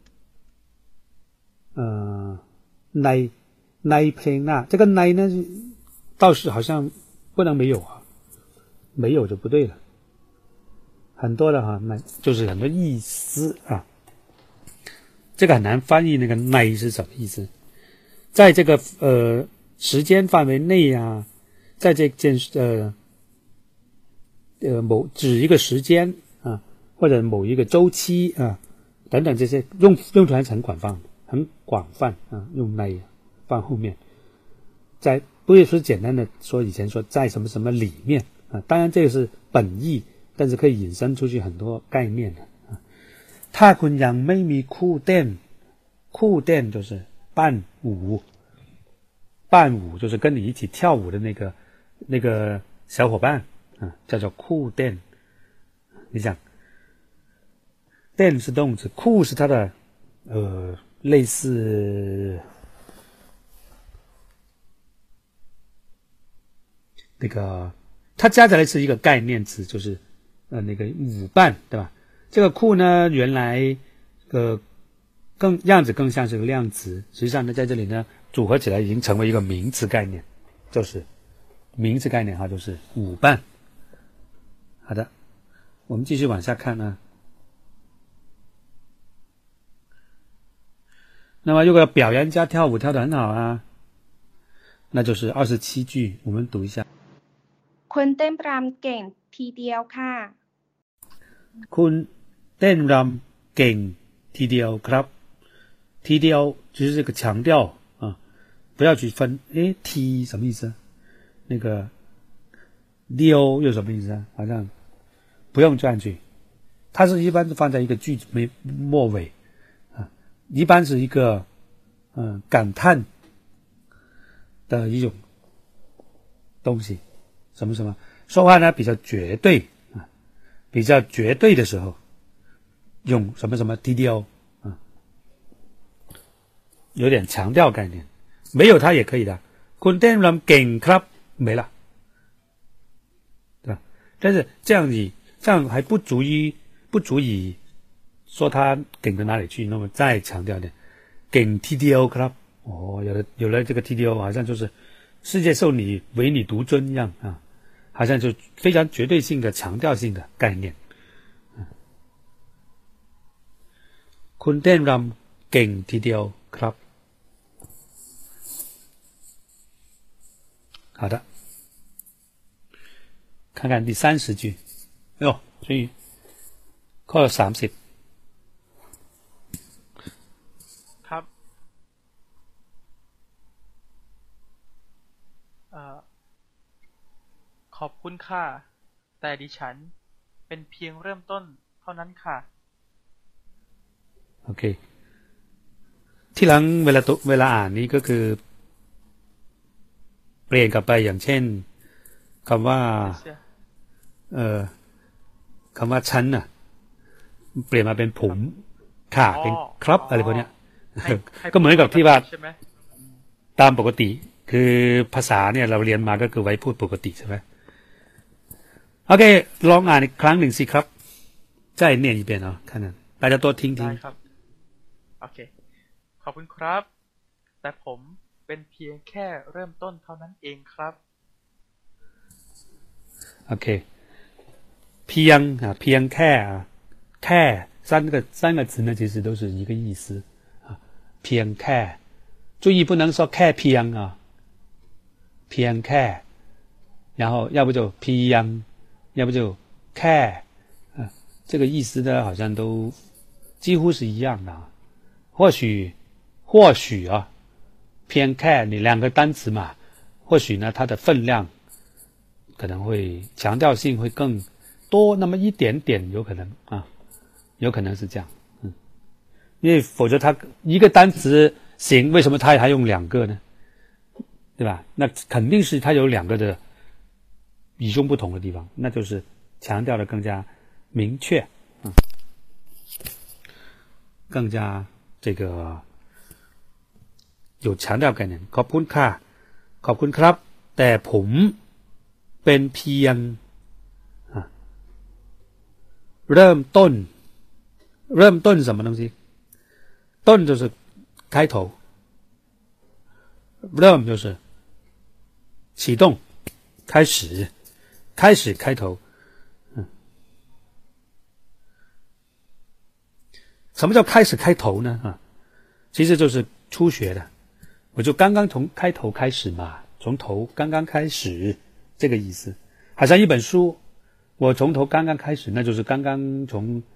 เอ่อในในเพลงหน้า这个ใน呢倒是好像不能没有啊，没有就不对了。很多的哈，那就是很多意思啊，这个很难翻译。那个ใน是什么意思？在这个呃时间范围内啊，在这件呃呃某指一个时间啊，或者某一个周期啊等等这些用用途还是很广泛，很广泛啊，用ใน放后面，在不是说简单的说以前说在什么什么里面啊，当然这个是本意。但是可以引申出去很多概念的啊。ถ้าคุณยังไม่มีคู่เต้น，คู่เต้น就是伴舞，伴舞就是跟你一起跳舞的那个那个小伙伴啊，叫做คู่เต้น。你想，เต้น是动词，คู่是它的呃类似那个，它加起来是一个概念词，就是。呃，那个舞伴对吧？这个คู่呢，原来呃更样子更像是个量词，实际上呢，在这里呢组合起来已经成为一个名词概念，就是名词概念哈，就是舞伴。好的，我们继续往下看呢。那么如果表扬家跳舞跳得很好啊，那就是二十七句，我们读一下。
คุณเต้นรำเก่งทีเดียวค่ะ
คุณเต้นรำเก่งทีเดียวครับทีเดียว就是这个强调啊，不要去分诶 t 什么意思？那个 dio 又什么意思啊？好像不用这样去，它是一般是放在一个句子没末尾啊，一般是一个嗯、呃、感叹的一种东西，什么什么，说话呢比较绝对啊，比较绝对的时候，用什么什么 T D O 啊，有点强调概念，没有它也可以的。คุณเต้นรำเก่งครับ没了，对吧？但是这样你这样还不足以不足以说他梗到哪里去，那么再强调一点，梗 T D O ครับ哦，有了有了这个 T D O， 好像就是世界受你唯你独尊一样啊，好像就非常绝对性的强调性的概念。คุณเต้นรำเก่งทีเดียวครับ好的，看看第三十句。哎呦，所以ข้อสามสิบ
ครับเอ่อขอบคุณค่ะแต่ดิฉันเป็นเพียงเริ่มต้นเท่านั้นค่ะ
โอเคที่หลังเวลาเวลาอ่านนี้ก็คือเปลี่ยนกลับไปอย่างเช่นคำว่าเอ่อคำว่าฉันน่ะเปลี่ยนมาเป็นผมค่ะเป็นครับอะไรพวกเนี้ยก็เหมือนกับที่ว่าตามปกติคือภาษาเนี่ยเราเรียนมาก็คือไว้พูดปกติใช่ไหมโอเคลองอ่านอีกครั้งหนึ่งสิครับ再念一遍啊看看大家多听听
ได้ครับโอเคขอบคุณครับแต่ผมเป็นเพียงแค่เริ่มต้นเท่านั้นเองครับ
โอเคเพียง啊เพียงแค่แค่三个三个词呢其实都是一个意思啊เพียงแค่注意不能说แค่เพียง啊เพียงแค่然后要不就เพียง要不就แค่啊这个意思呢好像都几乎是一样的啊或许或许啊偏แค่你两个单词嘛或许呢它的分量可能会强调性会更多那么一点点有可能啊有可能是这样嗯因为否则它一个单词行为什么它还用两个呢对吧那肯定是它有两个的与众不同的地方那就是强调的更加明确嗯更加这个有强调概念ขอบคุณค่ะขอบคุณครับแต่ผมเป็นเพียงเริ่มต้นเริ่มต้น什么东西ต้น就是开头เริ่ม就是启动开始开始开头嗯什么叫开始开头呢啊其实就是初学的我就刚刚从开头开始嘛从头刚刚开始这个意思好像一本书我从头刚刚开始那就是刚刚从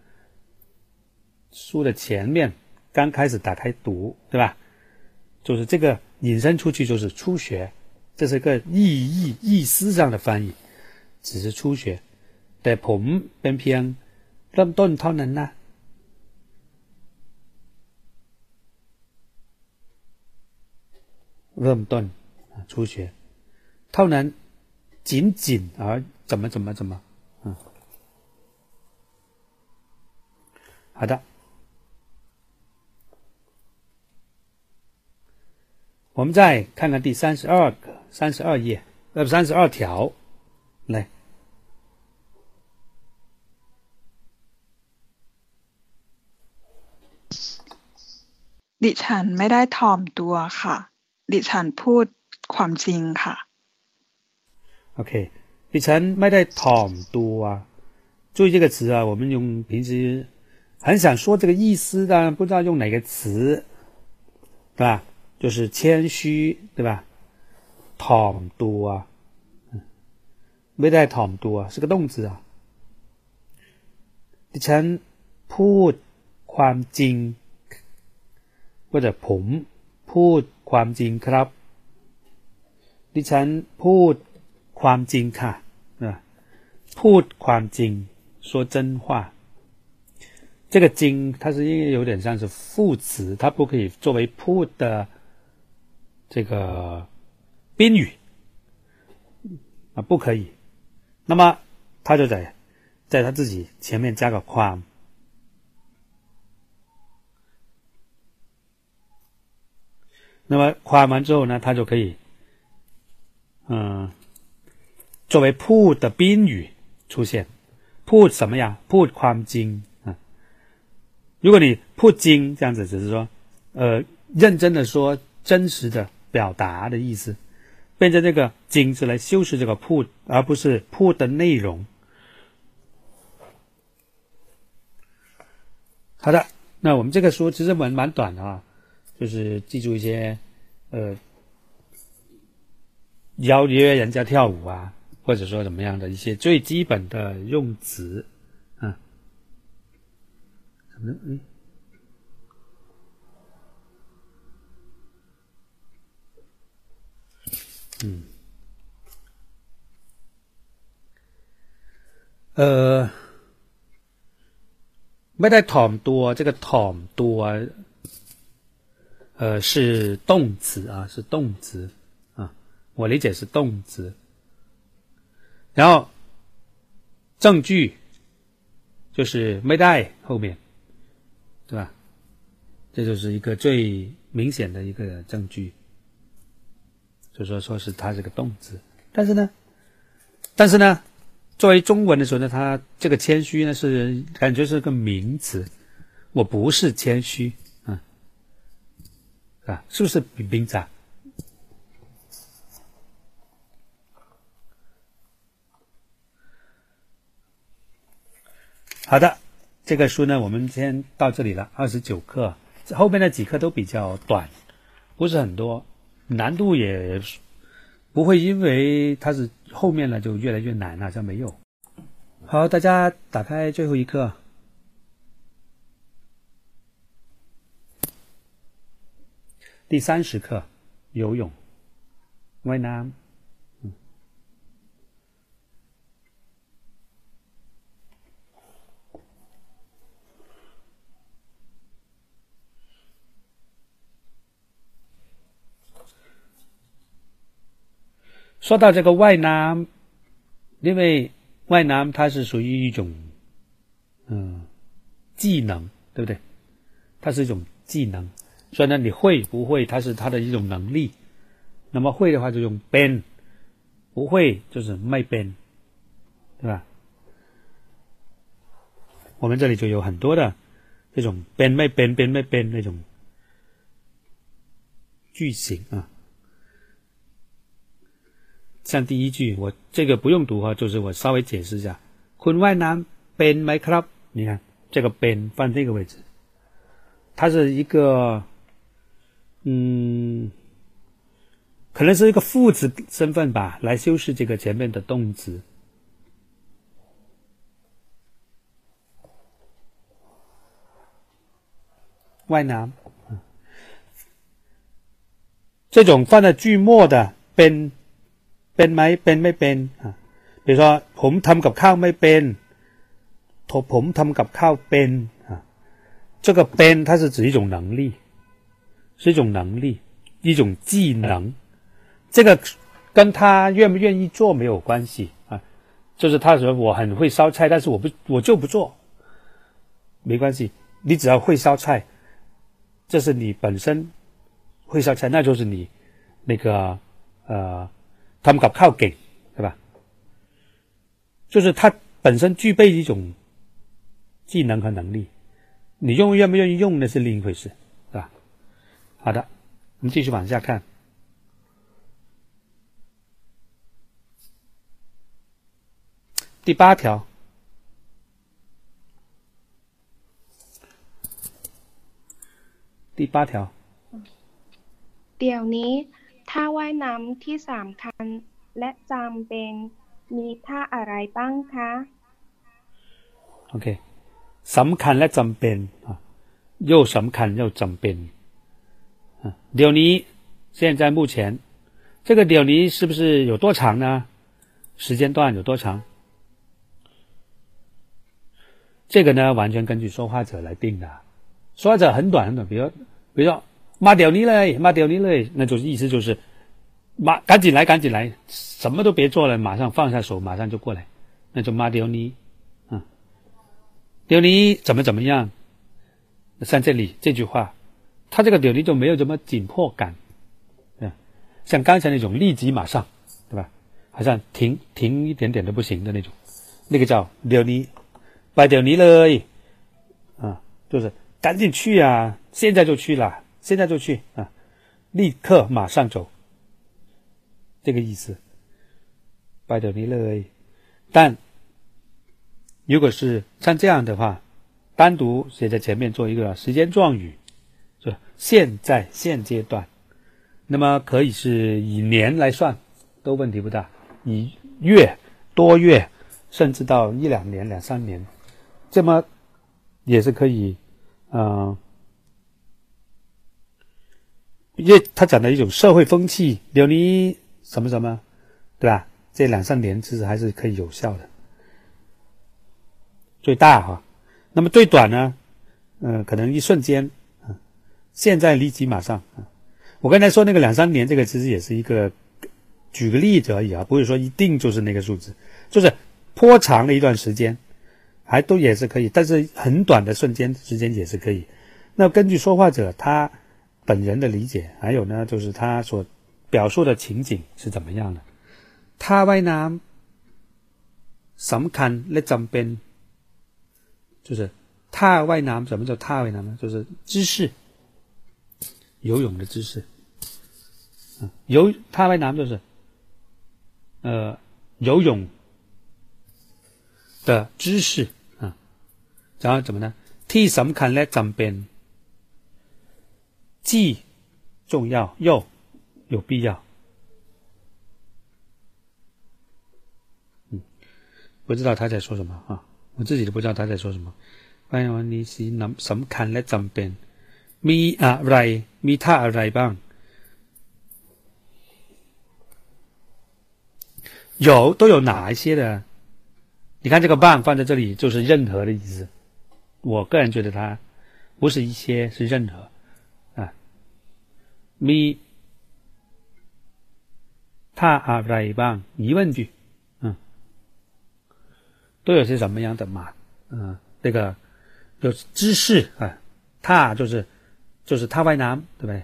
书的前面刚开始打开读对吧就是这个引申出去就是初学这是个意义意思上的翻译只是初学แต่ผมเป็นเพียงเริ่มต้นเท่านั้นนะเริ่มต้น初学เท่านั้น仅仅而怎么怎么怎么嗯好的我们再看看第三十二个三十二页呃三十二条来
ดิฉันไม่ได้ถ่อมตัวค่ะดิฉันพูดความจริงค่ะ
โอเคดิฉันไม่ได้ถ่อมตัว注意这个词啊我们用平时很想说这个意思但不知道用哪个词对吧就是谦虚对吧ถ่อมตัวไม่ได้ถ่อมตัว是个动词啊ดิฉันพูดความจริง或者ผมพูดความจริงครับดิฉันพูดความจริงค่ะพูดความจริง说真话这个จริง它是有点像是副词它不可以作为พูด的这个宾语啊，不可以。那么他就在在他自己前面加个ความ那么ความ完之后呢，他就可以嗯、呃、作为พูด的宾语出现。พูด什么呀？พูดความจริง啊。如果你พูดจริง这样子，只是说呃认真的说，真实的表达的意思，变成这个จริง是来修饰这个พูด，而不是พูด的内容。好的，那我们这个书其实蛮蛮短的啊，就是记住一些呃邀约人家跳舞啊，或者说怎么样的一些最基本的用词啊。什么？嗯。嗯。呃。ไม่ได้ถ่อมตัว这个ถ่อมตัว呃是动词啊，是动词啊，我理解是动词。然后证据就是ไม่ได้后面，对吧？这就是一个最明显的一个证据，就说说是它这个动词。但是呢，但是呢。作为中文的时候呢，它这个谦虚呢是感觉是个名词，我不是谦虚，嗯，啊，是不是名词啊？好的，这个书呢我们先到这里了，二十九课，后面的几课都比较短，不是很多，难度也不会因为它是后面了就越来越难了，这没有。好，大家打开最后一课。第三十课，游泳，ว่ายน้ำ。嗯。说到这个ว่ายน้ำ，因为ว่ายน้ำ它是属于一种嗯技能，对不对？它是一种技能，所以呢你会不会它是它的一种能力，那么会的话就用เป็น，不会就是ไม่เป็น，对吧？我们这里就有很多的这种เป็นไม่เป็นเป็นไม่เป็น那种句型啊。像第一句，我这个不用读哈，就是我稍微解释一下。คุณว่ายน้ำเป็นไหมครับ？你看这个เป็น放这个位置，它是一个嗯，可能是一个副词身份吧，来修饰这个前面的动词。ว่ายน้ำ这种放在句末的เป็นเป็นไหมเป็นไม่เป็นอ่ะ比如说ผมทำกับข้าวไม่เป็นผมทำกับข้าวเป็น啊这个เป็น它是指一种能力，是一种能力，一种技能，这个跟他愿不愿意做没有关系啊，就是他说我很会烧菜，但是我不我就不做，没关系，你只要会烧菜，这是你本身会烧菜，那就是你那个呃ทำกับข้าวเก่ง，对吧？就是他本身具备一种技能和能力，你用愿不愿意用那是另一回事，是吧？好的，我们继续往下看。第八条，第八条。
เดี๋ยวนี้ท่าว่ายน้ำที่สำคัญและจำเป็นมีท่าอะไรบ้างคะ
OK สำคัญและจำเป็น又สำคัญ又จำเป็นเดี๋ยวนี้现在目前这个เดี๋ยวนี้是不是有多长呢？时间段有多长？这个呢完全根据说话者来定的，说话者很短很短，比如比如说มาเดี๋ยวนี้เลยมาเดี๋ยวนี้เลย那就是意思就是马赶紧来，赶紧来，什么都别做了，马上放下手，马上就过来，那就马丢尼，嗯，丢尼怎么怎么样？像这里这句话，他这个丢尼就没有什么紧迫感，对，像刚才那种立即马上，对吧？好像停停一点点都不行的那种，那个叫丢尼，拜丢尼了，啊，就是赶紧去啊，现在就去了，现在就去啊，立刻马上走。这个意思，拜丢尼了。但如果是像这样的话，单独写在前面做一个时间状语，就现在现阶段，那么可以是以年来算，都问题不大，以月、多月，甚至到一两年、两三年，这么也是可以，嗯、呃，因为他讲的一种社会风气，丢尼什么什么，对吧？这两三年其实还是可以有效的。最大哈，那么最短呢？嗯、呃，可能一瞬间，啊，现在立即马上啊。我刚才说那个两三年，这个其实也是一个举个例子而已啊，不是说一定就是那个数字，就是颇长的一段时间，还都也是可以，但是很短的瞬间时间也是可以。那根据说话者他本人的理解，还有呢，就是他所表述的情景是怎么样的？ท่าว่ายน้ำสำคัญและจำเป็น，就是ท่าว่ายน้ำ，什么叫ท่าว่ายน้ำ呢？就是姿势，游泳的姿势。嗯，游ท่าว่ายน้ำ就是呃游泳的姿势啊。然后怎么呢？ที่สำคัญและจำเป็น，既重要又有必要。嗯，不知道他在说什么啊，我自己都不知道他在说什么。วันนี้สิสำคัญและจำเป็นมีอะไรมีท่าอะไรบ้าง有都有哪一些的？你看这个棒放在这里就是任何的意思，我个人觉得它不是一些，是任何啊。มีท่าอะไรบ้าง疑问句，嗯，都有些什么样的嘛？嗯，这个有姿势啊，ท่า就是就是ท่าว่ายน้ำ，对不对？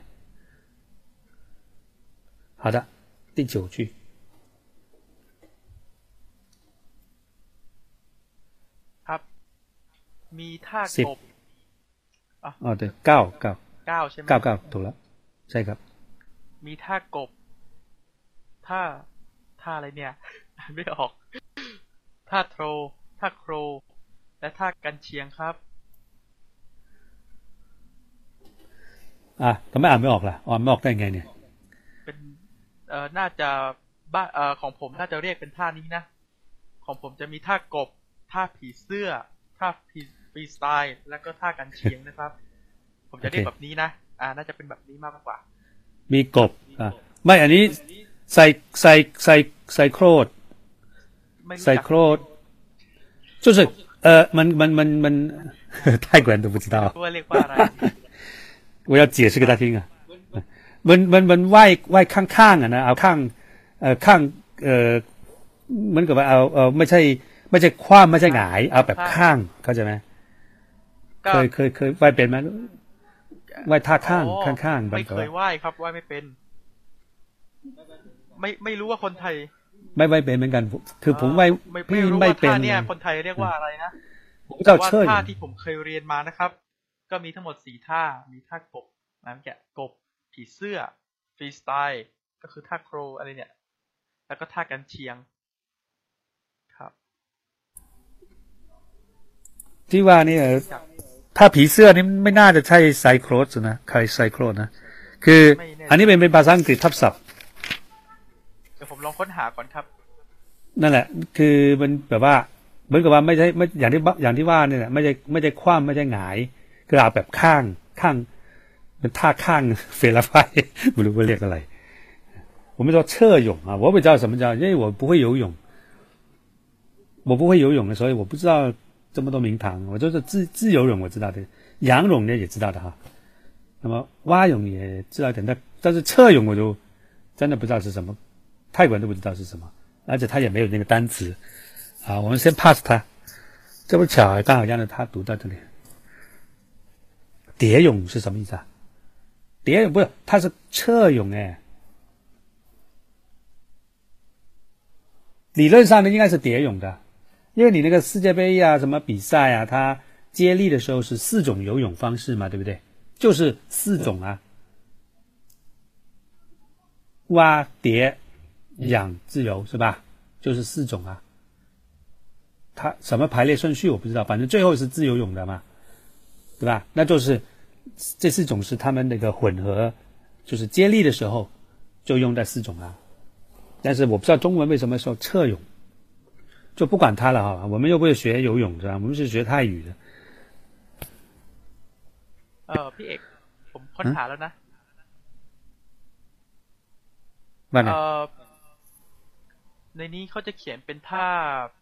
好的，第九句。
ครับมีท่ากบอ่ะ
อ๋อ对เก้าเก้า
เก้าใช่ไหม
เก้าเก้าถูกแล้วใช่ครับ
มีท่ากบท่าท่าอะไรเนี่ยไม่ออกท่าโทรท่าโครและท่ากันเชียงครับ
อ่ะทำไมอ่านไม่ออกล่ะอ่านไม่ออกได้ไงเนี่ย
เป็นเอ่อน่าจะบ้านเอ่อของผมน่าจะเรียกเป็นท่านี้นะของผมจะมีท่ากบท่าผีเสื้อท่าฟรีสไตล์แล้วก็ท่ากันเชียงนะครับ ผมจะเรียกแบบนี้นะอ่าน่าจะเป็นแบบนี้มากกว่า
มีกบอ่ะไม่อันนี้ใส่ใส่ใส่ใส่โครดใส่โครด就是呃มันมันมันมัน泰国人都不知道
ว่าเรียกว่าอะไร
我要解释给他听啊มันมันมันไหว้ไหว้ข้างๆอ่ะนะเอาข้างเอ่อข้างเอ่อเหมือนกับว่าเอาเอ่อไม่ใช่ไม่ใช่คว่ำไม่ใช่หงายเอาแบบข้างเข้าใจไหมเคยเคยเคยไหว้เป็นไหมไหว้ท่าข้างข้างๆ
ไม่เคยไหว้ครับไหว้ไม่เป็นไม่ไม่รู้ว่าคนไทย
ไม่ไหว้เป็นเหมือนกันคือผมไหว้พี่ไม่เป็น
ท่าเนี่ยคนไทยเรียกว่าอะไรนะ
แต่ว่า
ท่าที่ผมเคยเรียนมานะครับก็มีทั้งหมดสี่ท่ามีท่ากบน้ำแกะกบผีเสื้อฟรีสไตล์ก็คือท่าโครอะไรเนี่ยแล้วก็ท่ากันเชียงครับ
ที่ว่านี่ถ้าผีเสื้อนี่ไม่น่าจะใช่ไซโครสนะใครไซโครสนะคืออันนี้เป็นเป็นภาษาอังกฤษทับศัพท์
เดี๋ยวผมลองค้นหาก่อนครับ
นั่นแหละคือมันแบบว่าเหมือนกับว่าไม่ใช่ไม่อย่างที่อย่างที่ว่าเนี่ยไม่ใช่ไม่ใช่คว่ำไม่ใช่หงายคือเอาแบบข้างข้างเป็นท่าข้างเฟลไฟไม่รู้ว่าเรียกอะไร我们说侧泳啊我不知道什么叫因为我不会游泳我不会游泳的所以我不知道这么多名堂我就是自自由泳我知道的仰泳呢也知道的哈那么蛙泳也知道一点但但是侧泳我就真的不知道是什么，泰国人都不知道是什么，而且他也没有那个单词啊。我们先 pass 他，这不巧刚好让着他读到这里。蝶泳是什么意思啊？蝶泳不是，它是侧泳哎。理论上呢应该是蝶泳的，因为你那个世界杯啊什么比赛啊，它接力的时候是四种游泳方式嘛，对不对？就是四种啊，蛙、蝶、仰、自由是吧？就是四种啊。它什么排列顺序我不知道，反正最后是自由泳的嘛，对吧？那就是这四种是他们那个混合，就是接力的时候就用这四种啊。但是我不知道中文为什么说侧泳，就不管它了哈。我们又不是学游泳是吧？我们是学泰语的。
เออพี่เอกผมค้นหาแล้วนะ
ว่าไง
เออในนี้เขาจะเขียนเป็นท่า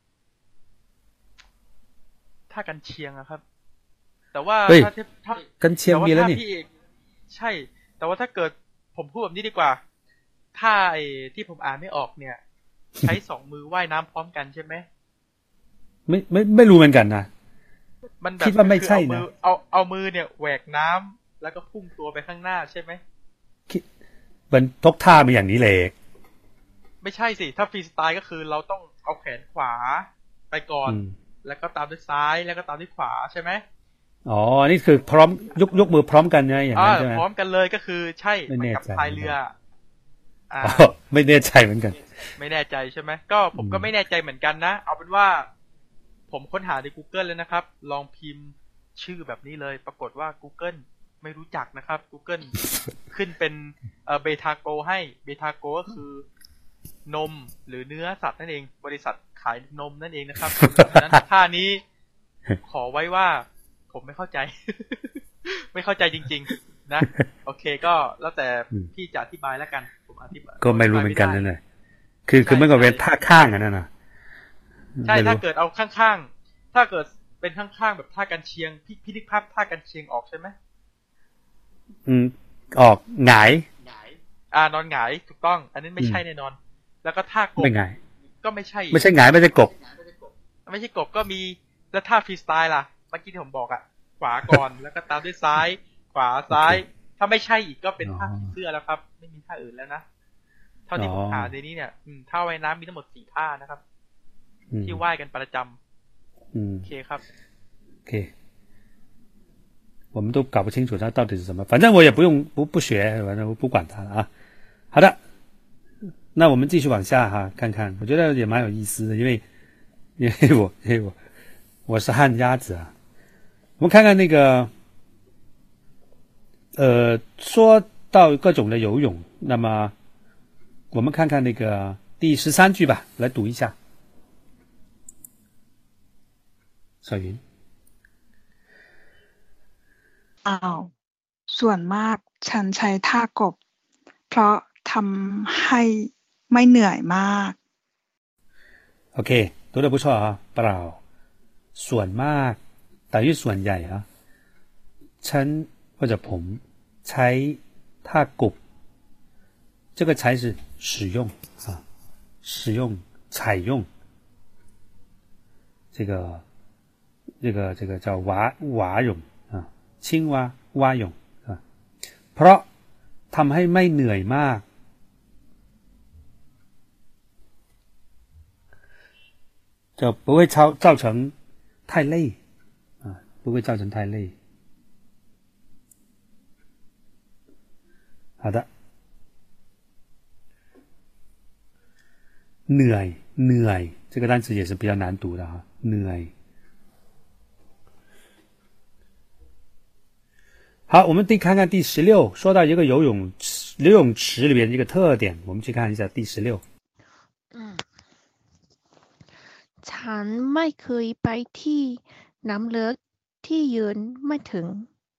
ท่ากันเชียงอะครับแต่ว่าถ้าถ้า
กันเชียงมีแล้วนี่
ใช่แต่ว่าถ้าเกิดผมพูดแบบนี้ดีกว่าท่าไอ้ที่ผมอ่านไม่ออกเนี่ยใช้สองมือว่ายน้ำพร้อมกันใช่ไหม
ไม่ไม่ไม่รู้เหมือนกันนะ
มันแบบ
คิดว่าไม่ใช่นะ
เอาเอามือเนี่ยแหวกน้ำแล้วก็พุ่งตัวไปข้างหน้าใช่ไหม
คิดมันทกท่ามาอย่างนี้เลย
ไม่ใช่สิถ้าฟรีสไตล์ก็คือเราต้องเอาแขนขวาไปก่อนแล้วก็ตามด้วยซ้ายแล้วก็ตามด้วยขวาใช่ไหม
อ๋อนี่คือพร้อมยกยกมือพร้อมกันไงอย่างนั้นใช่ไหม
พร้อมกันเลยก็คือใช่ไม่แน่ใจพายเรือ
อ๋อไม่แน่ใจเหมือนกัน
ไม่แน่ใจใช่ไหมก็ผมก็ไม่แน่ใจเหมือนกันนะเอาเป็นว่าผมค้นหาใน Google เลยนะครับลองพิมพ์ชื่อแบบนี้เลยปรากฏว่า Google ไม่รู้จักนะครับ Google ขึ้นเป็นเอ่อเบทาโกให้เบทาโกก็คือนมหรือเนื้อสัตว์นั่นเองบริษัทขายนมนั่นเองนะครับดังนั้นท่านี้ขอไว้ว่าผมไม่เข้าใจ ไม่เข้าใจจริงๆนะโอเคก็แล้วแต่พี่จะอธิบายแล้วกันผมอธิบาย
ก็ไม่รู้เหมือนกันนั่นแหละคือคือมันก็เป็นท่าข้างกันนั่นน่ะ
ใช่ถ้าเกิดเอาข้างๆถ้าเกิดเป็นข้างๆแบบท่ากันเชียงพี่พี่นึกภาพท่ากันเชียงออกใช่ไหม
อืมออกหงาย
อ่านอนหงายถูกต้องอันนี้ไม่ใช่แน่นอนแล้วก็ท่ากบ
ไม่หงาย
ก็ไม่ใช่
ไม่ใช่หงายไม่ใช่กบ
ไม่ใช่กบก็มีแล้วท่าฟรีสไตล์ล่ะเมื่อกี้ที่ผมบอกอ่ะขวาก่อนแล้วก็ตามด้วยซ้ายขวาซ้ายถ้าไม่ใช่อีกก็เป็นท่าผีเสื้อแล้วครับไม่มีท่าอื่นแล้วนะเท่าที่ผมหาในนี้เนี่ยท่าว่ายน้ำมีทั้งหมดสี่ท่านะครับที่ว่ายกันประจำโอเคครับ
โอเค我们都搞不清楚它到底是什么，反正我也不用不不学，反正我不管它了啊。好的，那我们继续往下哈，看看，我觉得也蛮有意思的，因为因为我因为我我是旱鸭子啊。我们看看那个，呃，说到各种的游泳，那么我们看看那个第十三句吧，来读一下。小云。
อ้าวส่วนมากฉันใช้ท่ากบเพราะทำให้ไม่เหนื่อยมาก
โอเค读得不错啊เปล่าส่วนมาก等于ส่วนใหญ่啊ฉัน或者ผมใช้ท่ากบ这个才是使用啊使用采用这个这个这个叫蛙蛙泳啊青蛙蛙泳啊เพราะทำให้ไม่เหนื่อยมาก就不会造造成太累啊不会造成太累好的เหนื่อยเหนื่อย这个单词也是比较难读的啊เหนื่อย好，我们第看看第十六，说到一个游泳游泳池里面的一个特点，我们去看一下第十六。
嗯，ฉันไม่เคยไปที่น้ำลึกที่ยืนไม่ถึง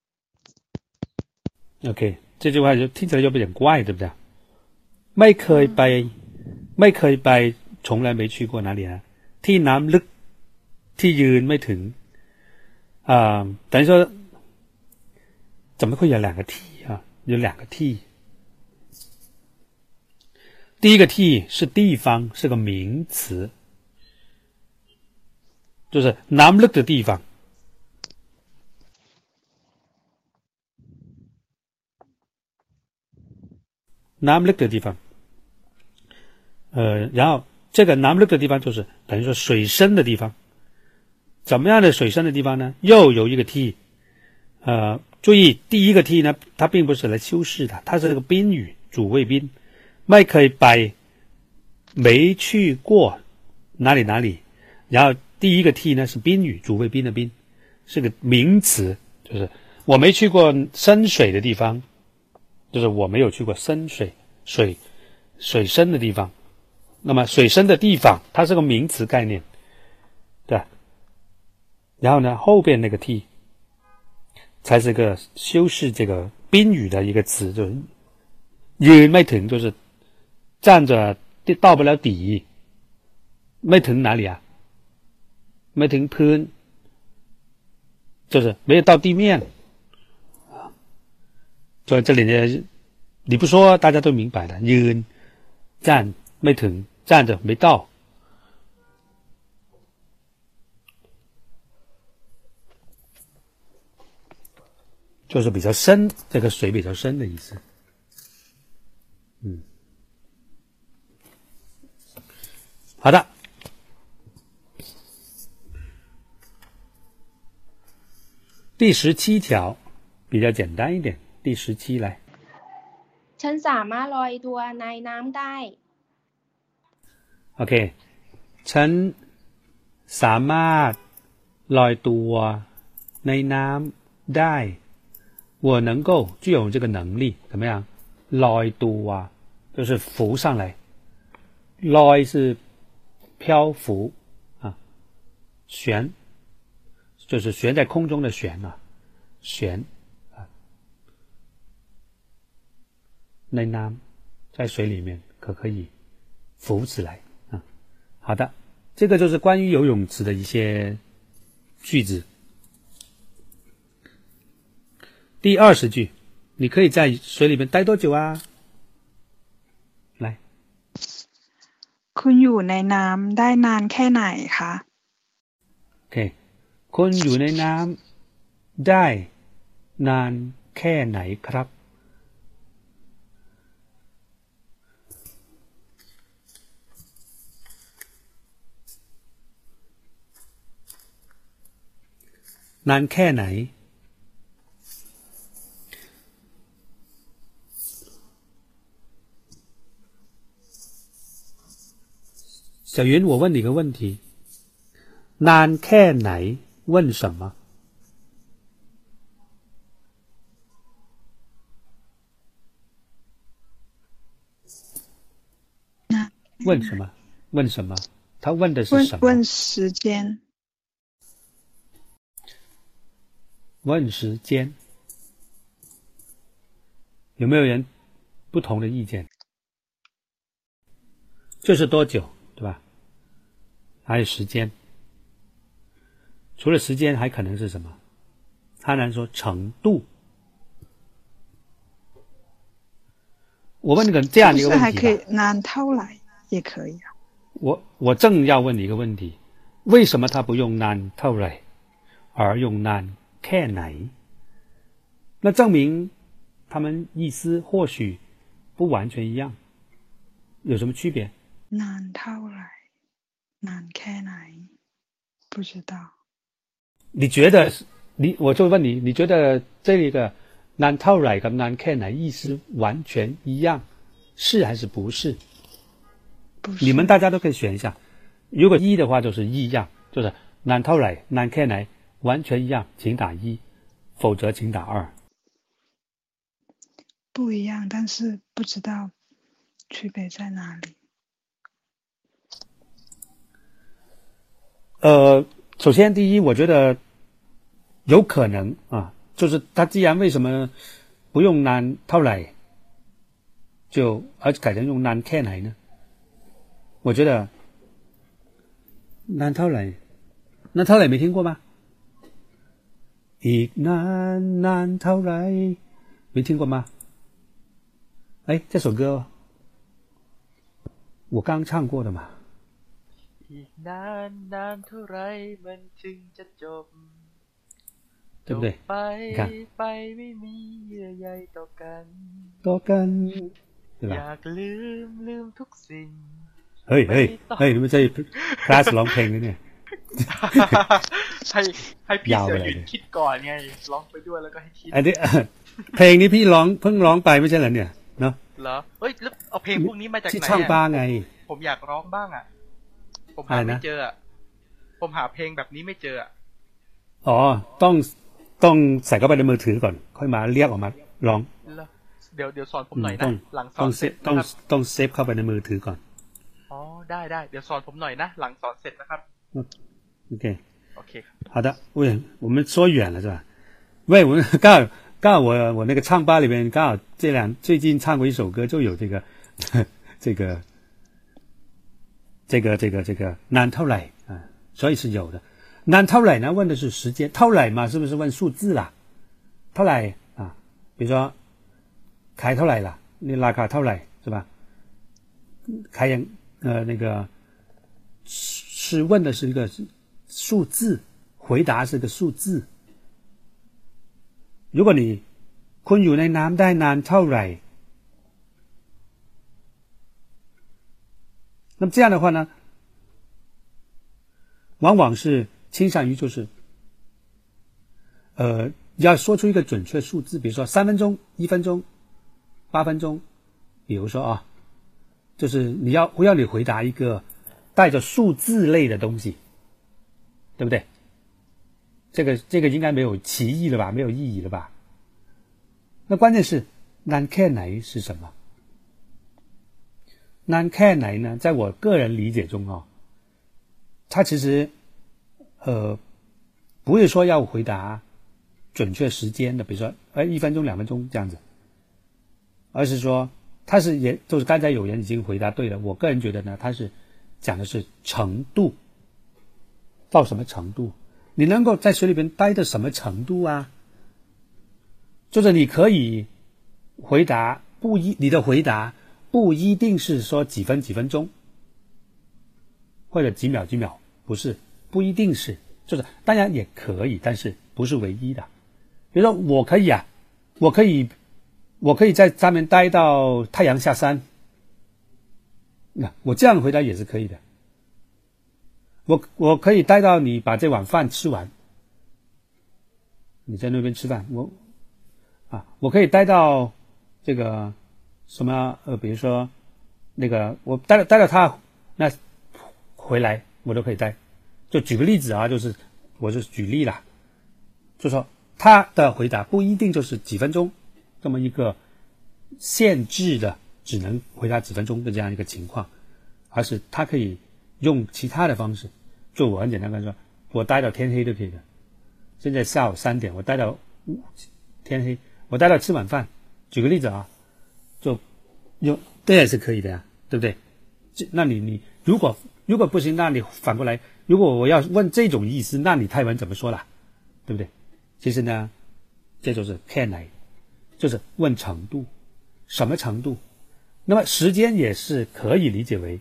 OK， 这句话就听起来有点怪，对不对？ไม่เคยไปไม่เคยไป从来没去过哪里啊？ที่น้ำลึกที่ยืนไม่ถึง啊、呃，等于说。怎么会有两个 t 啊？有两个 t， 第一个 t 是地方，是个名词，就是南ลึก的地方。南ลึก的地方，呃，然后这个南ลึก的地方就是等于说水深的地方。怎么样的水深的地方呢？又有一个 t， 呃，注意第一个 t 呢，它并不是来修饰的，它是这个宾语，主谓宾，ไม่เคยไป没去过哪里哪里，然后第一个 t 呢是宾语，主谓宾的宾，是个名词，就是我没去过深水的地方，就是我没有去过深水水水深的地方。那么水深的地方它是个名词概念，对吧？然后呢后边那个 t 才是个修饰这个宾语的一个词，就是ยืนไม่ถึง，就是站着到不了底。ไม่ถึง哪里啊？ไม่ถึงพื้น，就是没有到地面。所以这里呢，你不说大家都明白了。ยืน站ไม่ถึง，站着没到。就是比较深，这个水比较深的意思。嗯，好的。第十七条比较简单一点，第十七来。
ฉันสามารถลอยตัวในน้ำได้
OK， ฉันสามารถลอยตัวในน้ำได้我能够具有这个能力，怎么样？ลอยตัว就是浮上来，ลอย是漂浮啊，悬就是悬在空中的悬啊，悬啊，ในน้ำ在水里面可可以浮起来啊。好的，这个就是关于游泳池的一些句子。第二十句，你可以在水里面待多久啊？来，
คุณอยู่ในน้ำได้นานแค่ไหนคะ
OK， คุณอยู่ในน้ำได้นานแค่ไหนครับนานแค่ไหน小云，我问你个问题，นานแค่ไหน问什么？问什么？问什么？他问的是什么？
问时间。
问时间。有没有人不同的意见？就是多久，对吧？还有时间，除了时间还可能是什么？他能说程度。我问你个这样一个问题吧，
是不是还可以nานเท่าไหร่也可以啊。
我我正要问你一个问题，为什么他不用nานเท่าไหร่而用nานแค่ไหน？那证明他们意思或许不完全一样，有什么区别？
นานเท่าไหร่นานแค่ไหน不知道。
你觉得你我就问你，你觉得这一个นานเท่าไหร่กับนานแค่ไหน意思完全一样，是还是不是？
不是。
你们大家都可以选一下。如果一的话就是一样，就是นานเท่าไหร่นานแค่ไหน完全一样，请打一，否则请打二。
不一样，但是不知道区别在哪里。
呃，首先第一，我觉得有可能啊，就是他既然为什么不用nานเท่าไหร่，就而改成用nานแค่ไหน呢？我觉得nานเท่าไหร่นานเท่าไหร่没听过吗？อีกนานนานเท่าไหร่没听过吗？哎，这首歌我刚唱过的嘛。
อีกนานนานเท่าไรมันถึงจะจบ
对不对？
ไป
你看，
ไปไม่มีเยื่อใยต่อกัน
多跟，对
อยา
吧？
กลืมลืมทุกสิ่ง
เฮ้ยเฮ้ยเฮ้ย你们这คลาสร้องเพลงเลยเนี่ย
ให้ให้พี่
ยาว
เสื
ไป
อ
เลย
หยุดคิดก่อนไงร้องไปด้วยแล้วก็ให้คิด
อันนี้ เพลงนี้พี่ร้องเพิ่งร้องไปไม่ใช่เหรอเนี่ยเนาะ
เหรอเฮ้ยแล้วเอาเพลงพวกนี้มาจาก
ที่
ไหน
ช่าง
อะ
ป้าไง
ผมอยากร้องบ้างอ่ะ ผม
อะ
หา
ไร
ไม่
นะ
เจออะผมหาเพลงแบบนี้ไม่เจออะ
อ๋อต้องต้องใส่เข้าไปในมือถือก่อน ค่อยมาเรียกออกมาร้อง
แล้วเดี๋ยวเดี๋ยวสอนผมหน่อย
ต้
นะ
อง
หลังส
ต้
อ
อง
น
เซ
เสร็
ฟ
จ
ต้อง
นะครับ
ต้องเซฟเข้าไปในมือถือก่อน
อ๋อได้ได้เดี๋ยวสอนผมหน่อยนะหลังสอนเสร็จนะครับ
OK，
โอเคครับ
好的，喂，我们说远了是吧？喂，我们刚好刚好我我那个唱吧里边刚好这两最近唱过一首歌，就有这个这个这个这个这个难tou来啊，所以是有的。难tou来呢问的是时间，tou来嘛是不是问数字啦？tou来啊，比如说开tou来了，你拉卡tou来是吧？开眼呃那个是问的是一个数字，回答是个数字。如果你คุณอยู่ในน้ำได้นานเท่าไหร่那么这样的话呢，往往是倾向于就是呃要说出一个准确数字，比如说三分钟、一分钟、八分钟，比如说啊，就是你要不要你回答一个带着数字类的东西，对不对？这个这个应该没有歧义了吧，没有意义了吧？那关键是难แค่ไหน是什么？难แค่ไหน呢？在我个人理解中哦，它其实呃不是说要回答准确时间的，比如说哎一分钟、两分钟这样子，而是说它是也就是刚才有人已经回答对了。我个人觉得呢，它是讲的是程度，到什么程度？你能够在水里边待到什么程度啊？就是你可以回答不一，你的回答不一定是说几分几分钟，或者几秒几秒，不是，不一定是，就是当然也可以，但是不是唯一的。比如说我可以啊，我可以，我可以在上面待到太阳下山，那我这样回答也是可以的。我我可以待到你把这碗饭吃完，你在那边吃饭，我啊，我可以待到这个什么呃，比如说那个我待到待到他那回来，我都可以待。就举个例子啊，就是我就是举例啦，就说他的回答不一定就是几分钟这么一个限制的，只能回答几分钟的这样一个情况，而是他可以用其他的方式。就我很简单跟他说，我待到天黑都可以的。现在下午三点，我待到天黑，我待到吃晚饭。举个例子啊，就用这也是可以的呀，对不对？那你你如果如果不行，那你反过来，如果我要问这种意思，那你泰文怎么说啦？对不对？其实呢，这就是แค่ไหน，就是问程度，什么程度？那么时间也是可以理解为。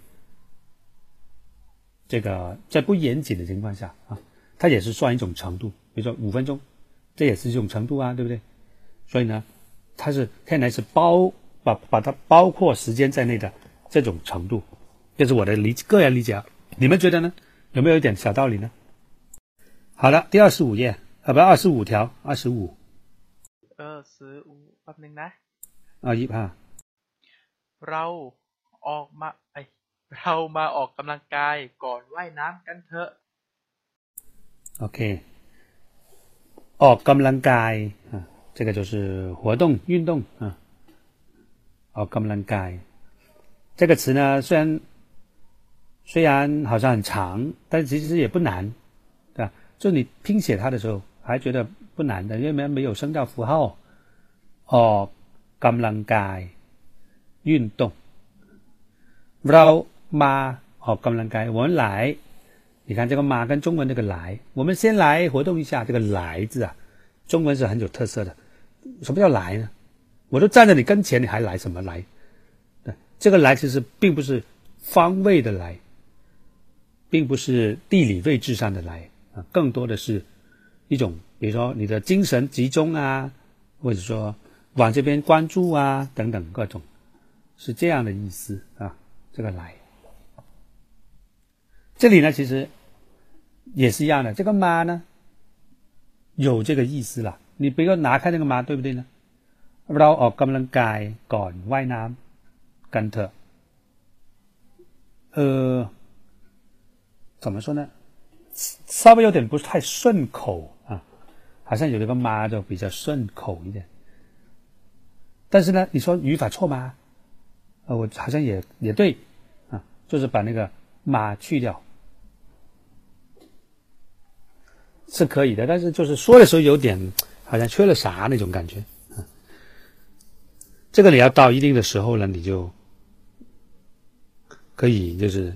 这个在不严谨的情况下啊，它也是算一种程度，比如说五分钟，这也是一种程度啊，对不对？所以呢，它是看来是包把把它包括时间在内的这种程度，这是我的理个人理解啊。你们觉得呢？有没有一点小道理呢？好了，第二十五页啊，不，二十五条，二十五。
二十五แป๊บนึงนะ
啊，一啊。
เราออกมาไอเรามาออกกำลังกายก่อนว่ายน้ำกันเถอะ
OK， ออกกำลังกาย啊，这个就是活动运动啊。ออกกำลังกาย这个词呢，虽然虽然好像很长，但其实也不难，对吧？就你拼写它的时候，还觉得不难的，因为没有声调符号。ออกกำลังกาย运动เรามาออกกำลังกาย我们来，你看这个มา跟中文这个来，我们先来活动一下。这个来字啊，中文是很有特色的。什么叫来呢？我都站在你跟前，你还来什么来？对，这个来其实并不是方位的来，并不是地理位置上的来啊，更多的是一种，比如说你的精神集中啊，或者说往这边关注啊，等等各种，是这样的意思啊。这个来，这里呢其实也是一样的，这个妈呢有这个意思了。你比如拿开那个妈，对不对呢？เราออกกำลังกายก่อนว่ายน้ำกันเถอะ呃怎么说呢，稍微有点不太顺口啊，好像有这个妈就比较顺口一点。但是呢，你说语法错吗？呃，我好像也也对啊，就是把那个妈去掉是可以的，但是就是说的时候有点好像缺了啥那种感觉啊。这个你要到一定的时候呢，你就可以就是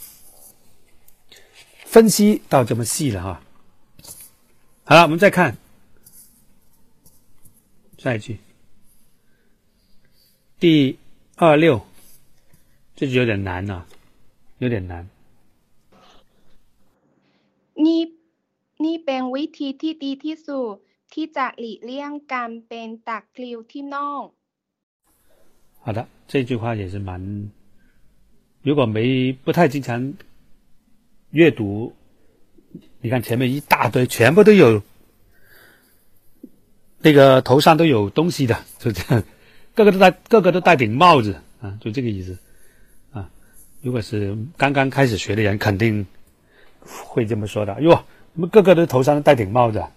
分析到这么细了哈。好了，我们再看下一句，第二六，这就有点难啊，有点难。
นี่นี่เป็นวิธีที่ดีที่สุดที่จะหลีกเลี่ยงการเป็นตะคริวที่น่อง。
好的，这句话也是蛮，如果没不太经常阅读，你看前面一大堆，全部都有那个头上都有东西的，就这样，个个都戴，个个都戴顶帽子啊，就这个意思啊。如果是刚刚开始学的人，肯定会这么说的。哟，我们个个都头上戴顶帽子啊。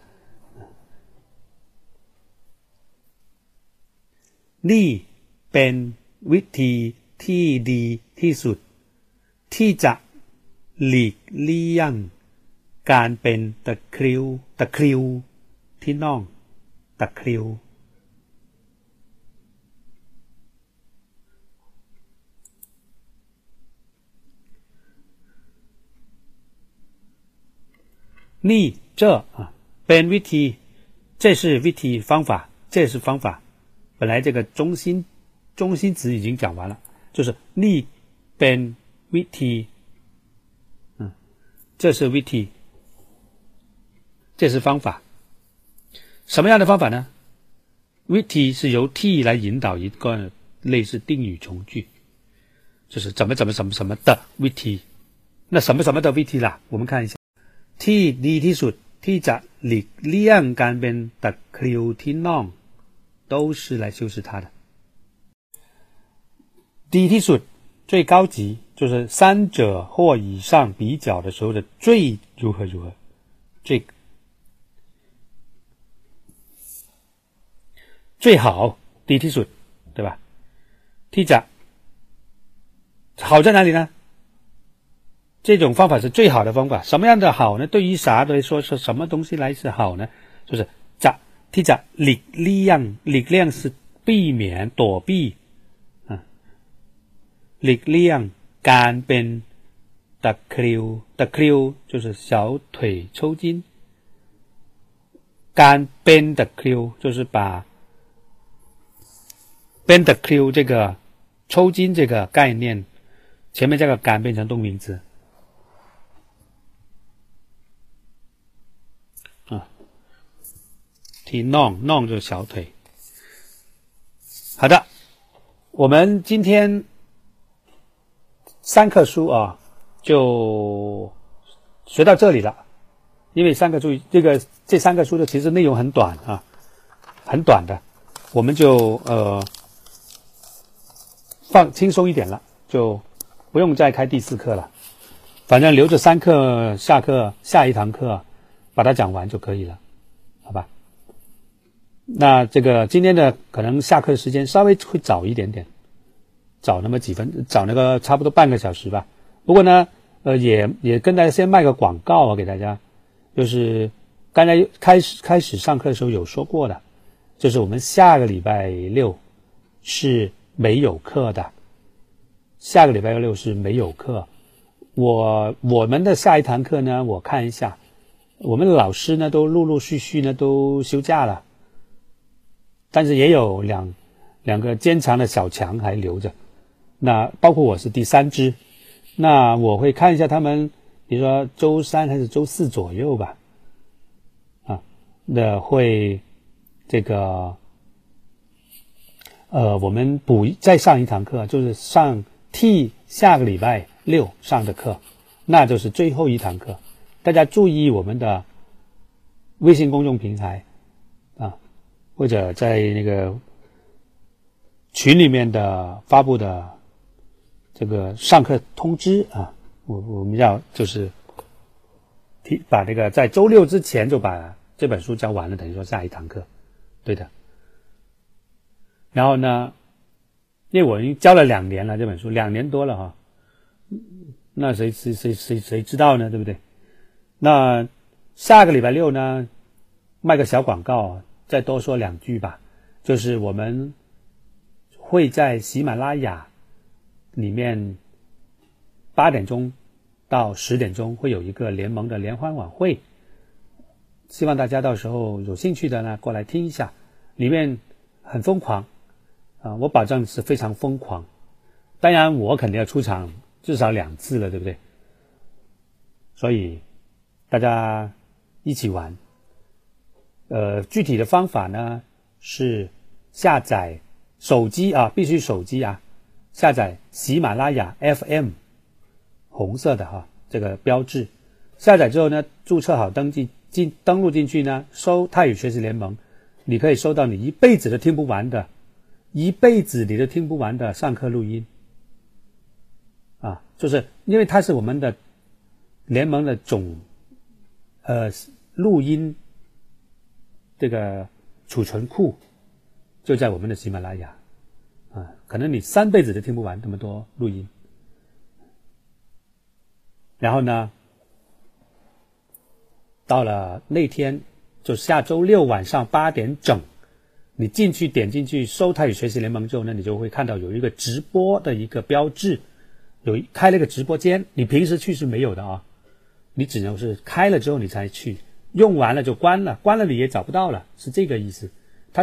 นี่เป็นวิธีที่ดีที่สุดที่จะหลีกเลี่ยงการเป็นตะคริวตะคริวที่น่องตะคริวนี่这啊เป็นวิธี这是วิธี方法这是方法本来这个中心中心词已经讲完了，就是นี่เป็นวิธี嗯这是วิธี这是方法。什么样的方法呢？วิธี是由 t 来引导一个类似定语从句，就是怎么怎么什么什么的วิธี。那什么什么的วิธี啦，我们看一下，ที่ดีที่สุดที่จะหลีกเลี่ยงการเป็นตะคริวที่น่อง都是来修饰它的。ดีที่สุด最高级，就是三者或以上比较的时候的最如何如何，最最好，ดีที่สุด，对吧？ที่จะ好在哪里呢？这种方法是最好的方法。什么样的好呢？对于啥来说是什么东西来是好呢？就是จะที่จะหลีกเลี่ยง，หลีกเลี่ยง是避免躲避啊，หลีกเลี่ยงการเป็นตะคริว，ตะคริว就是小腿抽筋，การเป็นตะคริว就是把เป็นตะคริว这个抽筋这个概念前面这个การ变成动名词啊，ที่น่องน่อง就是小腿。好的，我们今天三课书啊就学到这里了。因为三个书这个这三个书的其实内容很短啊，很短的，我们就呃放轻松一点了，就不用再开第四课了，反正留着三课，下课下一堂课把它讲完就可以了，好吧？那这个今天的可能下课的时间稍微会早一点点，早那么几分，早那个差不多半个小时吧。不过呢，呃，也也跟大家先卖个广告啊，给大家，就是刚才开始开始上课的时候有说过的，就是我们下个礼拜六是没有课的，下个礼拜六是没有课。我我们的下一堂课呢，我看一下，我们的老师呢都陆陆续续呢都休假了。但是也有两两个坚强的小强还留着，那包括我是第三只， 那我会看一下他们，比如说周三还是周四左右吧，啊，那会这个呃，我们补再上一堂课，就是上替下个礼拜六上的课，那就是最后一堂课。大家注意我们的微信公众平台啊，或者在那个群里面的发布的这个上课通知啊，我我们要就是提把这个在周六之前就把这本书教完了，等于说下一堂课，对的。然后呢，因为我已经教了两年了这本书，两年多了哈，那谁谁谁谁谁知道呢，对不对？那下个礼拜六呢，卖个小广告，再多说两句吧，就是我们会在喜马拉雅里面八点钟到十点钟会有一个联盟的联欢晚会，希望大家到时候有兴趣的呢过来听一下，里面很疯狂啊，我保证是非常疯狂。当然我肯定要出场至少两次了，对不对？所以大家一起玩。呃，具体的方法呢是下载手机啊，必须手机啊，下载喜马拉雅 F M， 红色的哈，这个标志。下载之后呢，注册好登记进登录进去呢，搜泰语学习联盟，你可以收到你一辈子都听不完的，一辈子你都听不完的上课录音。啊，就是因为它是我们的联盟的总呃录音这个储存库，就在我们的喜马拉雅啊，可能你三辈子都听不完这么多录音。然后呢，到了那天就下周六晚上八点整，你进去点进去搜泰语学习联盟之后呢，你就会看到有一个直播的一个标志，有开了一个直播间，你平时去是没有的啊，你只能是开了之后你才去，用完了就关了，关了你也找不到了，是这个意思。